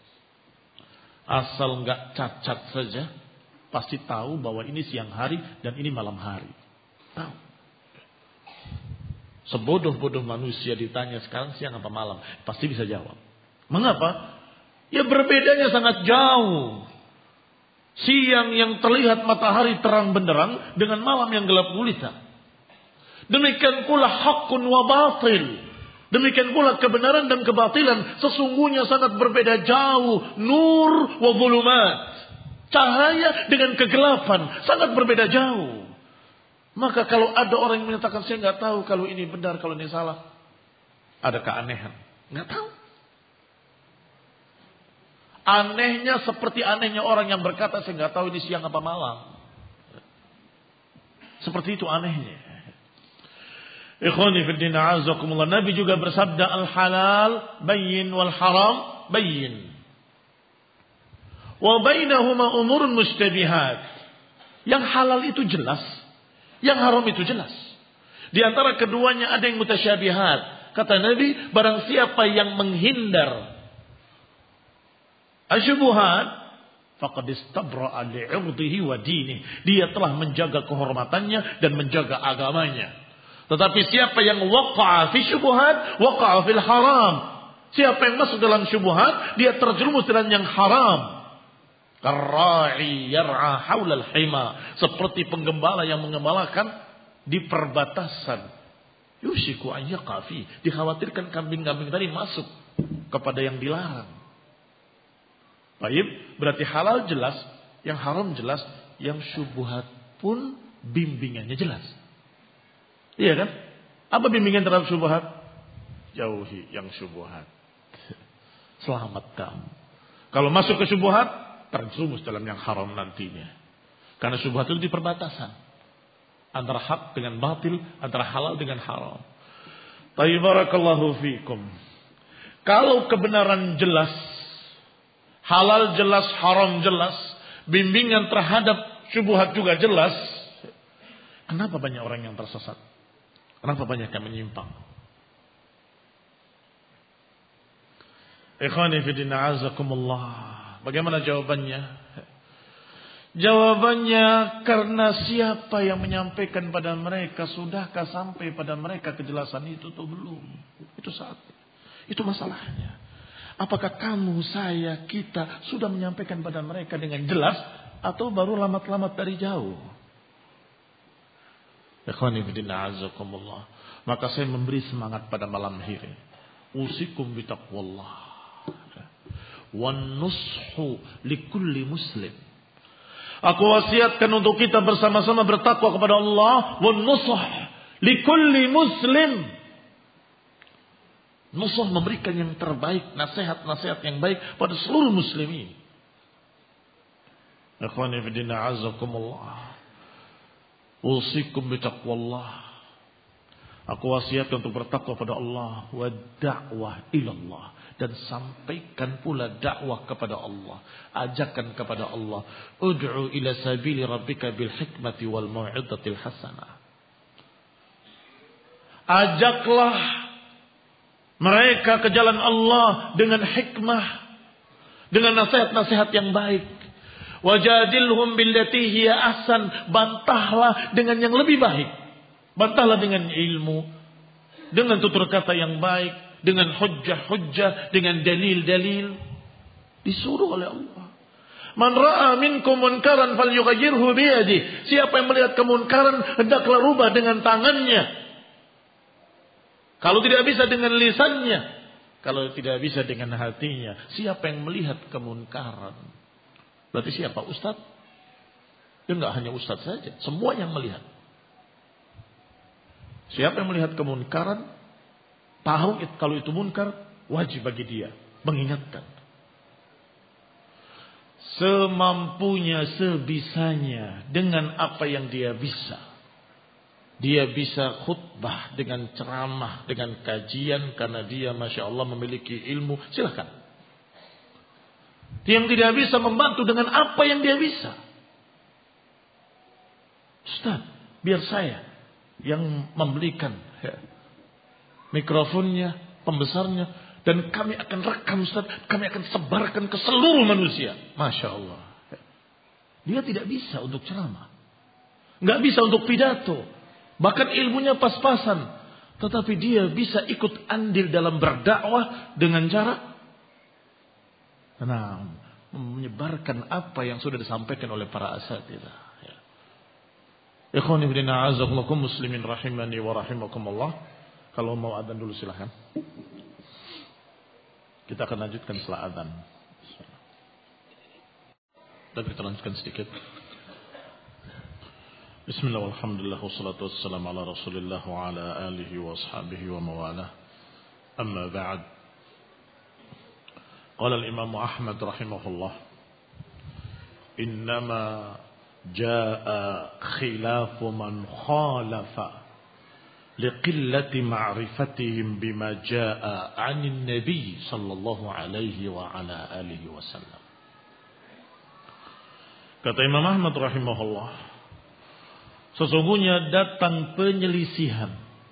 Asal enggak cacat saja, pasti tahu bahwa ini siang hari dan ini malam hari. Tahu. Sebodoh-bodoh manusia ditanya sekarang siang apa malam, pasti bisa jawab. Mengapa? Ya berbedanya sangat jauh. Siang yang terlihat matahari terang benderang dengan malam yang gelap gulita. Demikian pula hakun wa batil. Demikian pula kebenaran dan kebatilan sesungguhnya sangat berbeda jauh. Nur wa zulumat. Cahaya dengan kegelapan sangat berbeda jauh. Maka kalau ada orang yang menyatakan saya nggak tahu kalau ini benar, kalau ini salah, ada keanehan. Nggak tahu. Anehnya seperti anehnya orang yang berkata saya nggak tahu ini siang apa malam. Seperti itu anehnya. Ikhwani fid din a'azakumullah. Nabi juga bersabda al-halal bayyin wal haram bayyin. Wa bainahuma umurun mushtabihat. Yang halal itu jelas. Yang haram itu jelas. Di antara keduanya ada yang mutasyabihat. Kata Nabi, barang siapa yang menghindar asyubuhat, faqad istabra'a li'irdihi wa dinihi. Dia telah menjaga kehormatannya dan menjaga agamanya. Tetapi siapa yang waqa'a fi syubuhat, waqa'a fil haram. Siapa yang masuk dalam syubuhat, dia terjerumus dalam yang haram. Karra'i yar'a haulal hima, seperti penggembala yang mengembalakan di perbatasan. Yushiku an yaqafi, dikhawatirkan kambing-kambing tadi masuk kepada yang dilarang. Baik, berarti halal jelas, yang haram jelas, yang syubhat pun bimbingannya jelas. Iya kan? Apa bimbingan terhadap syubhat? Jauhi yang syubhat. Selamat kamu. Kalau masuk ke syubhat, terjerumus dalam yang haram nantinya. Karena syubhat itu di perbatasan antara hak dengan batil, antara halal dengan haram. Tayyibarakallahu fikum. Kalau kebenaran jelas, halal jelas, haram jelas, bimbingan terhadap syubhat juga jelas, kenapa banyak orang yang tersesat? Kenapa banyak yang menyimpang? Ikhwani fi din a'azakumullah. Bagaimana jawabannya? Jawabannya karena siapa yang menyampaikan pada mereka, sudahkah sampai pada mereka kejelasan itu atau belum? Itu saatnya. Itu masalahnya. Apakah kamu, saya, kita sudah menyampaikan pada mereka dengan jelas atau baru lamat-lamat dari jauh? Ikhwani fillah azakumullah. Maka saya memberi semangat pada malam hari. Usikum bitaqwallah. Wan nushu likulli muslim. Aku wasiatkan untuk kita bersama-sama bertakwa kepada Allah. Wan nusuh likulli muslim. Nusuh memberikan yang terbaik, nasihat-nasihat yang baik pada seluruh muslimin. Ikhwani fi din a'azakumullah. Usikum bitaqwallah. Aku wasiatkan untuk bertakwa pada Allah wa da'wah ilallah, dan sampaikan pula dakwah kepada Allah, ajakan kepada Allah. Ud'u ila sabili rabbika bil hikmati wal mau'izatil hasanah. Ajaklah mereka ke jalan Allah dengan hikmah, dengan nasihat-nasihat yang baik. Wajadilhum billati hiya ahsan, bantahlah dengan yang lebih baik. Bantahlah dengan ilmu, dengan tutur kata yang baik, dengan hujjah-hujjah, dengan dalil-dalil. Disuruh oleh Allah. Man ra'a minkum munkaran falyughayyirhu biyadihi. Siapa yang melihat kemunkaran, hendaklah rubah dengan tangannya. Kalau tidak bisa dengan lisannya, kalau tidak bisa dengan hatinya. Siapa yang melihat kemunkaran? Berarti siapa? Ustaz? Ya enggak hanya ustaz saja, semua yang melihat. Siapa yang melihat kemunkaran, tahu kalau itu munkar, wajib bagi dia mengingatkan. Semampunya, sebisanya, dengan apa yang dia bisa. Dia bisa khutbah dengan ceramah, dengan kajian, karena dia Masya Allah memiliki ilmu, silahkan. Yang tidak bisa membantu dengan apa yang dia bisa. Ustaz, biar saya yang membelikan mikrofonnya, pembesarnya, dan kami akan rekam Ustaz, kami akan sebarkan ke seluruh manusia. Masya Allah. Dia tidak bisa untuk ceramah, nggak bisa untuk pidato, bahkan ilmunya pas-pasan. Tetapi dia bisa ikut andil dalam berdakwah dengan cara menyebarkan apa yang sudah disampaikan oleh para asatidzah. Ikhwani fillah a'azzakumullah muslimin rahimani wa rahimakumullah. Kalau mau adzan dulu silakan. Kita akan lanjutkan setelah adzan. Dan kita lanjutkan sedikit. Bismillah walhamdulillah wassalatu wassalamu ala Rasulillah wa ala alihi wa ashabihi wa mawalah. Amma ba'd. Qala al-Imam Ahmad rahimahullah, innama jaa khilafu man khalafa liqillati ma'rifatihim bima jaa 'anil nabi sallallahu alaihi wa ala alihi wasallam. Kata Imam Ahmad rahimahullah, sesungguhnya datang penyelisihan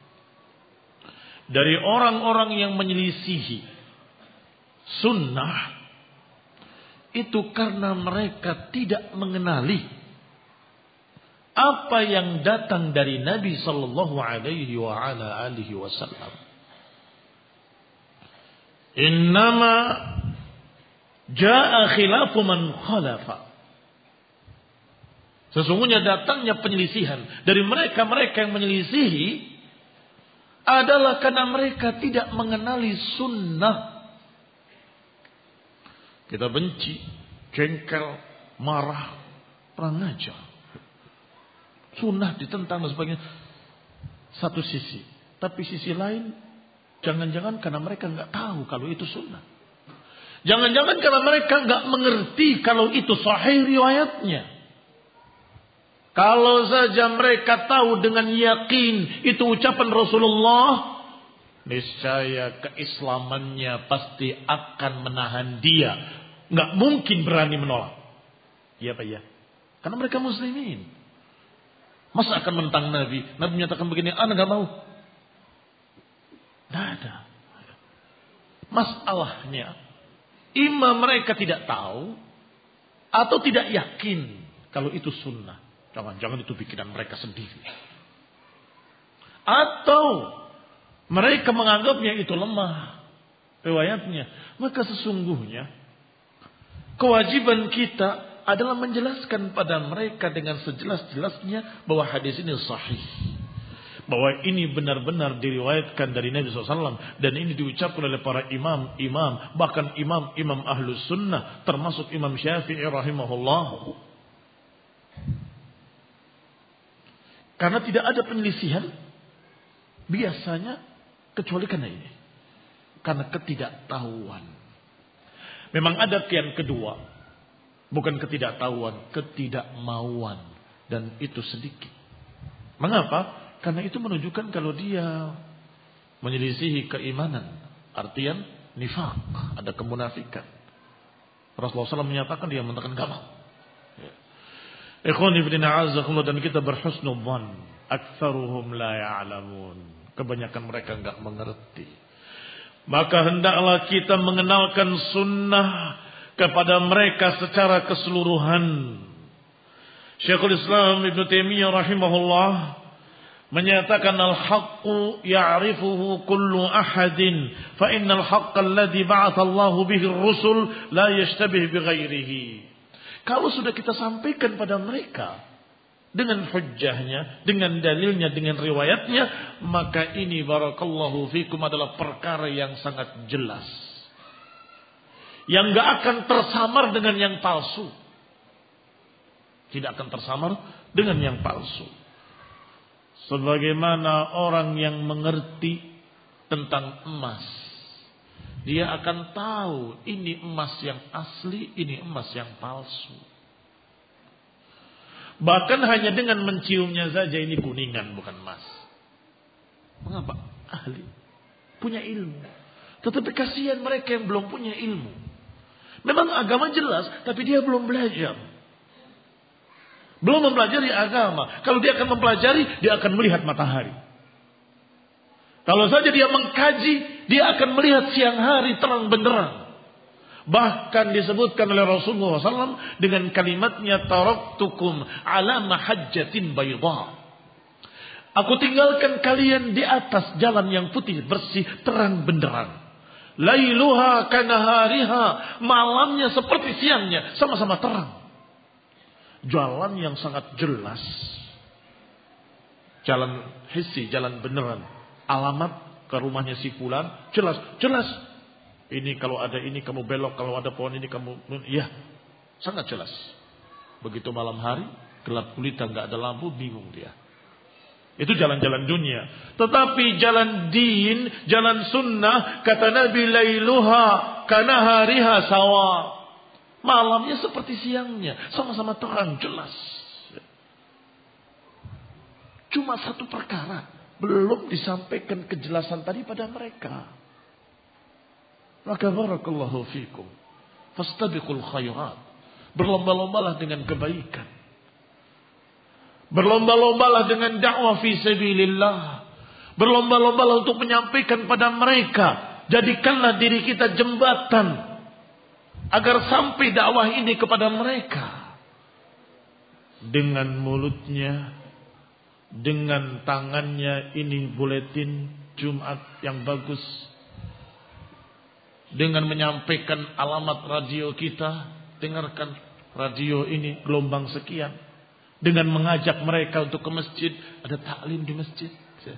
dari orang-orang yang menyelisihi sunnah itu karena mereka tidak mengenali apa yang datang dari Nabi sallallahu alaihi wa ala alihi wasallam. Innama jaa khilafu man khalafa. Sesungguhnya datangnya penyelisihan dari mereka-mereka yang menyelisihi adalah karena mereka tidak mengenali sunnah. Kita benci, jengkel, marah, perang ajar. Sunnah ditentang dan sebagainya. Satu sisi. Tapi sisi lain, jangan-jangan karena mereka nggak tahu kalau itu sunnah. Jangan-jangan karena mereka nggak mengerti kalau itu sahih riwayatnya. Kalau saja mereka tahu dengan yakin itu ucapan Rasulullah, niscaya keislamannya pasti akan menahan dia. Nggak mungkin berani menolak. Iya Pak ya. Karena mereka muslimin. Masa akan mentang Nabi? Nabi menyatakan begini, anak nggak mau. Nggak ada. Masalahnya, imam mereka tidak tahu atau tidak yakin kalau itu sunnah. Jangan-jangan itu bikinan mereka sendiri. Atau mereka menganggapnya itu lemah riwayatnya. Maka sesungguhnya kewajiban kita adalah menjelaskan pada mereka dengan sejelas-jelasnya bahwa hadis ini sahih. Bahwa ini benar-benar diriwayatkan dari Nabi SAW. Dan ini diucapkan oleh para imam-imam. Bahkan imam-imam ahlus sunnah. Termasuk Imam Syafi'i rahimahullah. Karena tidak ada penyelisihan biasanya kecuali karena ini. Karena ketidaktahuan. Memang ada yang kedua. Bukan ketidaktahuan, ketidakmauan. Dan itu sedikit. Mengapa? Karena itu menunjukkan kalau dia menyelisihi keimanan. Artian nifaq. Ada kemunafikan. Rasulullah SAW menyatakan, dia mengatakan gak mau. Ikhwani fillah a'azzakumullah, dan kita berhusnudzan. Aktsaruhum la ya'lamun. Kebanyakan mereka enggak mengerti. Maka hendaklah kita mengenalkan sunnah kepada mereka secara keseluruhan. Syekhul Islam Ibn Taimiyah rahimahullah menyatakan al-haqqu ya'rifuhu kullu ahadin fa innal haqqa alladhi ba'atha Allahu bihi ar-rusul la yashtabih bi ghairihi. Kalau sudah kita sampaikan pada mereka dengan hujjahnya, dengan dalilnya, dengan riwayatnya, maka ini barakallahu fikum adalah perkara yang sangat jelas. Yang gak akan tersamar dengan yang palsu. Tidak akan tersamar dengan yang palsu. Sebagaimana orang yang mengerti tentang emas, dia akan tahu ini emas yang asli, ini emas yang palsu. Bahkan hanya dengan menciumnya saja ini kuningan bukan emas. Mengapa? Ahli. Punya ilmu. Tetapi kasihan mereka yang belum punya ilmu. Memang agama jelas, tapi dia belum belajar. Belum mempelajari agama. Kalau dia akan mempelajari, dia akan melihat matahari. Kalau saja dia mengkaji, dia akan melihat siang hari terang benderang. Bahkan disebutkan oleh Rasulullah SAW dengan kalimatnya taraktukum ala mahajjatin bayda. Aku tinggalkan kalian di atas jalan yang putih, bersih, terang benderang. Lailuha kanahariha, malamnya seperti siangnya, sama-sama terang. Jalan yang sangat jelas. Jalan hissi, jalan beneran. Alamat ke rumahnya si fulan, jelas. Ini kalau ada ini kamu belok, kalau ada pohon ini kamu, ya, sangat jelas. Begitu malam hari, gelap gulita, nggak ada lampu, bingung dia. Itu jalan-jalan dunia. Tetapi jalan din, jalan sunnah, kata Nabi, lailuha kanahariha sawa. Malamnya seperti siangnya, sama-sama terang, jelas. Cuma satu perkara, belum disampaikan kejelasan tadi pada mereka. Maka barakallahu fikum. Fastabiqul khairat. Berlomba-lombalah dengan kebaikan. Berlomba-lombalah dengan dakwah fi sabilillah. Berlomba-lombalah untuk menyampaikan pada mereka. Jadikanlah diri kita jembatan agar sampai dakwah ini kepada mereka. Dengan mulutnya, dengan tangannya, ini buletin Jumat yang bagus. Dengan menyampaikan alamat radio kita, dengarkan radio ini gelombang sekian. Dengan mengajak mereka untuk ke masjid, ada taklim di masjid.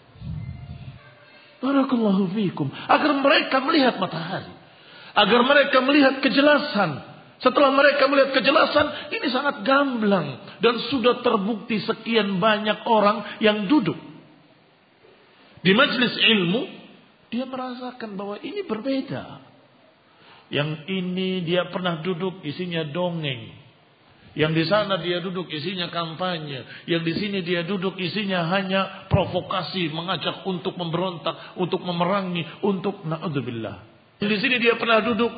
Barakallahu fikum. Agar mereka melihat matahari, agar mereka melihat kejelasan. Setelah mereka melihat kejelasan, ini sangat gamblang dan sudah terbukti sekian banyak orang yang duduk di majelis ilmu, dia merasakan bahwa ini berbeda. Yang ini dia pernah duduk isinya dongeng. Yang di sana dia duduk isinya kampanye. Yang di sini dia duduk isinya hanya provokasi, mengajak untuk memberontak, untuk memerangi, untuk na'udzubillah. Yang di sini dia pernah duduk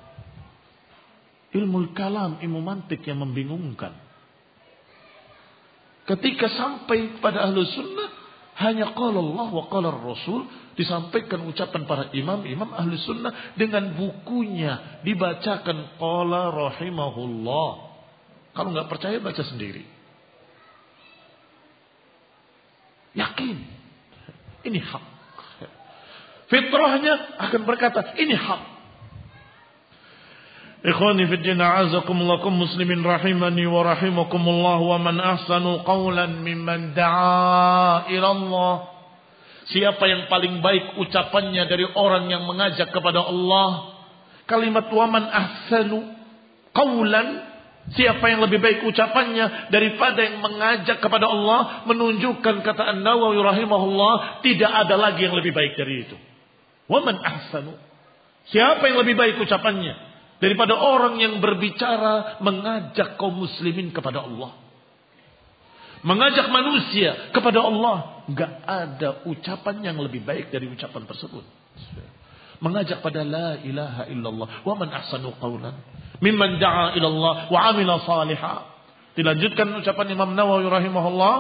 ilmu kalam, ilmu mantik yang membingungkan. Ketika sampai pada ahlu sunnah, hanya qala Allah wa qala Rasul, disampaikan ucapan para imam ahlu sunnah dengan bukunya, dibacakan qala rahimahullah. Kalau nggak percaya baca sendiri. Yakin. Ini hak. Fitrahnya akan berkata ini hak. Ikhwani fi din a'azakumullah muslimin rahimani wa rahimakumullah wa man ahsanu qawlan mimman da'a ila Allah. Siapa yang paling baik ucapannya dari orang yang mengajak kepada Allah? Kalimat wa man ahsanu qawlan, siapa yang lebih baik ucapannya daripada yang mengajak kepada Allah, menunjukkan kata An-Nawawi rahimahullah, tidak ada lagi yang lebih baik dari itu. Wa man ahsanu, siapa yang lebih baik ucapannya daripada orang yang berbicara mengajak kaum muslimin kepada Allah, mengajak manusia kepada Allah. Enggak ada ucapan yang lebih baik dari ucapan tersebut. Mengajak pada la ilaha illallah. Wa man ahsanu qawlan mimman da'a ila Allah wa 'amila salihah. Dilanjutkan ucapan Imam Nawawi rahimahullah,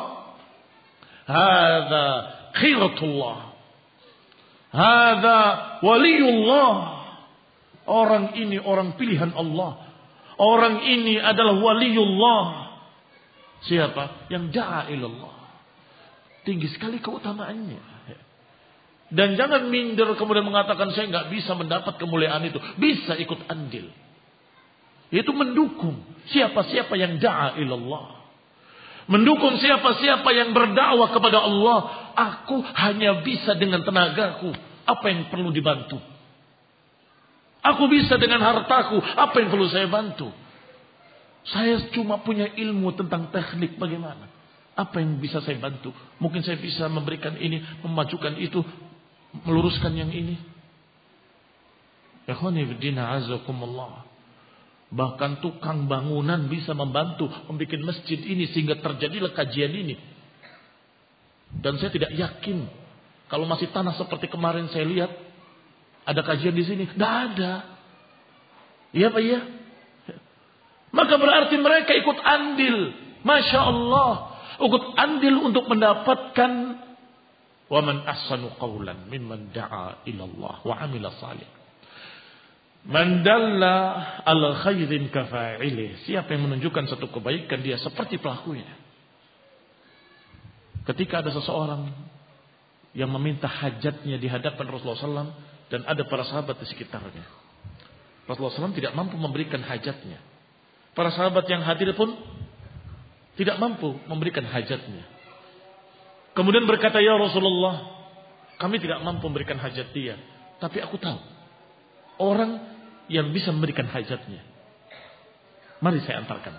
hadza khiratullah, hadza waliyullah. Orang ini orang pilihan Allah. Orang ini adalah waliullah. Siapa? Yang da'a ila Allah. Tinggi sekali keutamaannya. Dan jangan minder kemudian mengatakan saya nggak bisa mendapat kemuliaan itu. Bisa ikut andil. Yaitu mendukung siapa-siapa yang da'a ilallah. Mendukung siapa-siapa yang berdakwah kepada Allah. Aku hanya bisa dengan tenagaku. Apa yang perlu dibantu? Aku bisa dengan hartaku. Apa yang perlu saya bantu? Saya cuma punya ilmu tentang teknik bagaimana. Apa yang bisa saya bantu? Mungkin saya bisa memberikan ini, memajukan itu, meluruskan yang ini. Ikhwani fiddina azakumullah. Bahkan tukang bangunan bisa membantu membuat masjid ini sehingga terjadilah kajian ini. Dan saya tidak yakin kalau masih tanah seperti kemarin saya lihat ada kajian di sini. Tidak ada. Iya Pak ya? Maka berarti mereka ikut andil. Masya Allah. Ikut andil untuk mendapatkan wa man ahsanu qawlan mimman da'a ila Allah wa 'amila salih. Man dalla ala khairin kafa'ilih. Siapa yang menunjukkan satu kebaikan, dia seperti pelakunya. Ketika ada seseorang yang meminta hajatnya di hadapan Rasulullah SAW dan ada para sahabat di sekitarnya. Rasulullah SAW tidak mampu memberikan hajatnya. Para sahabat yang hadir pun tidak mampu memberikan hajatnya. Kemudian berkata, ya Rasulullah, kami tidak mampu memberikan hajat dia. Tapi aku tahu orang yang bisa memberikan hajatnya. Mari saya antarkan.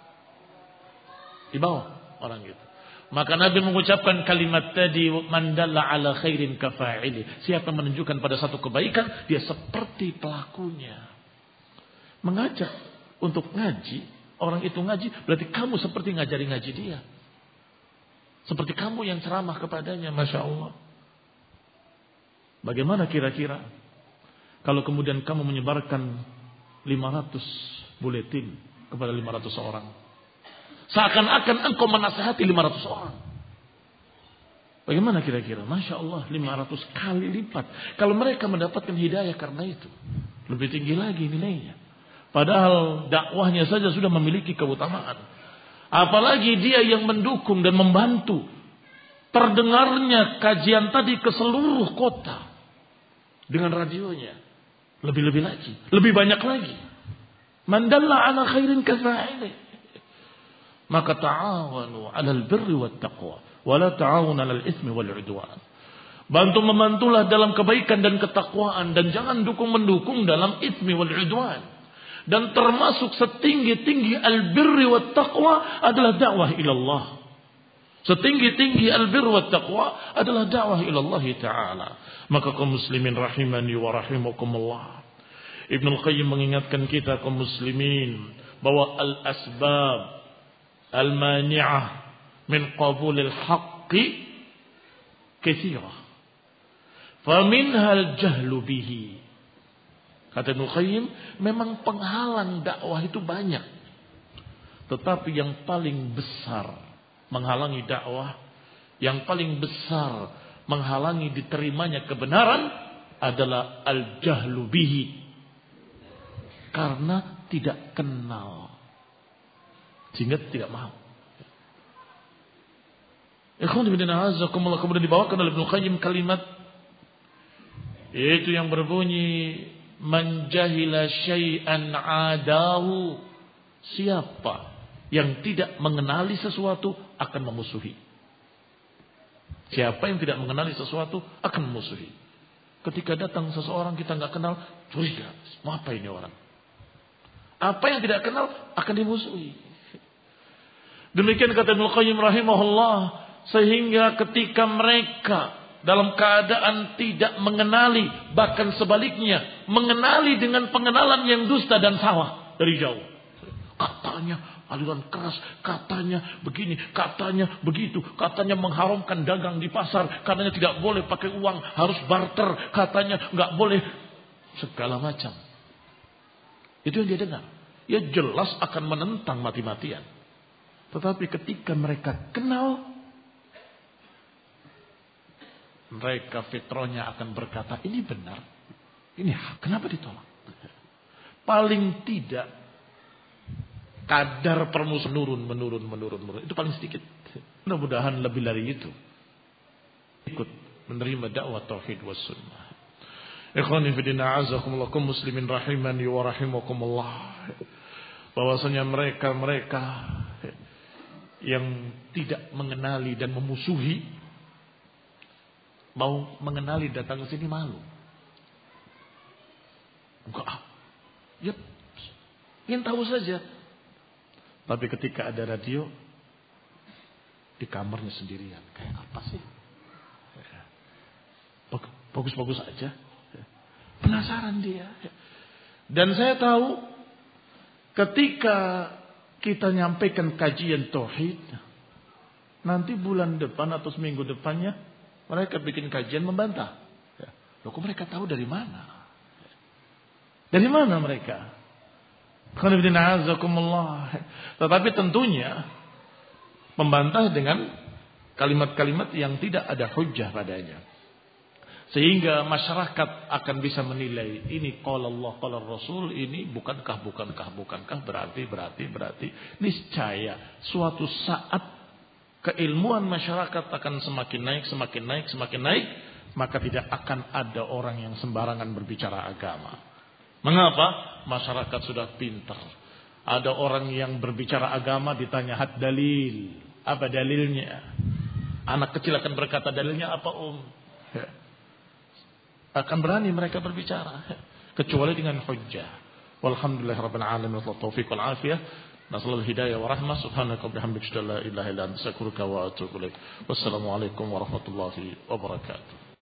Dibawa orang itu. Maka Nabi mengucapkan kalimat tadi, man dalla ala khairin kafa'ili. Siapa yang menunjukkan pada satu kebaikan, dia seperti pelakunya. Mengajak untuk ngaji, orang itu ngaji, berarti kamu seperti ngajari ngaji dia. Seperti kamu yang ceramah kepadanya, Masya Allah. Bagaimana kira-kira kalau kemudian kamu menyebarkan 500 buletin kepada 500 orang? Seakan-akan engkau menasihati 500 orang. Bagaimana kira-kira? Masya Allah, 500 kali lipat. Kalau mereka mendapatkan hidayah karena itu, lebih tinggi lagi nilainya. Padahal dakwahnya saja sudah memiliki keutamaan. Apalagi dia yang mendukung dan membantu terdengarnya kajian tadi ke seluruh kota. Dengan radionya. Lebih-lebih lagi. Lebih banyak lagi. Man dalla ala khairin kafa'ili. Maka ta'awanu 'alal birri wat taqwa wa la ta'awunu 'alal itsmi wal 'udwan. Bantu-membantulah dalam kebaikan dan ketakwaan dan jangan dukung-mendukung dalam itsmi wal 'udwan. Dan termasuk setinggi-tinggi al-birri wat taqwa adalah dakwah ila Allah. Setinggi-tinggi al-birri wat taqwa adalah dakwah ila Allah Ta'ala. Maka kaum muslimin rahimani wa rahimakumullah. Ibnu Qayyim mengingatkan kita kaum muslimin bahwa al-asbab al-mani'ah min qabulil haqqi katsirah. Faminha al-jahlu bihi. Kata Ibnu Qayyim, memang penghalang dakwah itu banyak. Tetapi yang paling besar menghalangi dakwah, yang paling besar menghalangi diterimanya kebenaran adalah al-jahlu bihi. Karena tidak kenal. Sehingga tidak mau. Ikhwan fillah a'azzakumullah, kemudian dibawakan oleh Ibnu Qayyim kalimat yaitu yang berbunyi man jahila syai'an adahu. Siapa yang tidak mengenali sesuatu akan memusuhi. Siapa yang tidak mengenali sesuatu akan memusuhi. Ketika datang seseorang kita nggak kenal, curiga, mau apa ini orang? Apa yang tidak kenal akan dimusuhi. Demikian kata Ibnu Qayyim rahimahullah, sehingga ketika mereka dalam keadaan tidak mengenali, bahkan sebaliknya mengenali dengan pengenalan yang dusta dan salah dari jauh. Katanya aliran keras, katanya begini, katanya begitu, katanya mengharamkan dagang di pasar, katanya tidak boleh pakai uang, harus barter, katanya nggak boleh segala macam. Itu yang dia dengar. Ya jelas akan menentang mati-matian. Tetapi ketika mereka kenal, mereka fitrahnya akan berkata, ini benar, ini kenapa ditolak? Paling tidak kadar permusuhan menurun. Itu paling sedikit. Mudah-mudahan lebih dari itu ikut menerima dakwah tauhid was sunnah. Ikhwani fillah a'azzakumullah, kaum muslimin rahimani wa rahimakumullah. Bahwasanya mereka yang tidak mengenali dan memusuhi, mau mengenali datang ke sini malu. Enggak. Ya, ingin tahu saja. Tapi ketika ada radio, di kamarnya sendirian. Kayak apa sih? Bagus-bagus aja. Penasaran dia. Dan saya tahu ketika kita nyampaikan kajian tauhid, nanti bulan depan atau seminggu depannya mereka bikin kajian membantah. Loh, kok mereka tahu dari mana? Dari mana mereka? Tetapi tentunya membantah dengan kalimat-kalimat yang tidak ada hujjah padanya. Sehingga masyarakat akan bisa menilai ini qala Allah qala Rasul, ini bukankah berarti niscaya suatu saat keilmuan masyarakat akan semakin naik, maka tidak akan ada orang yang sembarangan berbicara agama. Mengapa? Masyarakat sudah pintar. Ada orang yang berbicara agama ditanya had dalil. Apa dalilnya? Anak kecil akan berkata dalilnya apa Akan berani mereka berbicara. Kecuali dengan hujjah. Walhamdulillahirabbil alamin wa taufiq wal afiyah. Nasallahu hidayah wa rahmah. Subhanaka bihamdika la ilaha illa anta astaghfiruka wa atubu ilaik. Wassalamualaikum warahmatullahi wabarakatuh.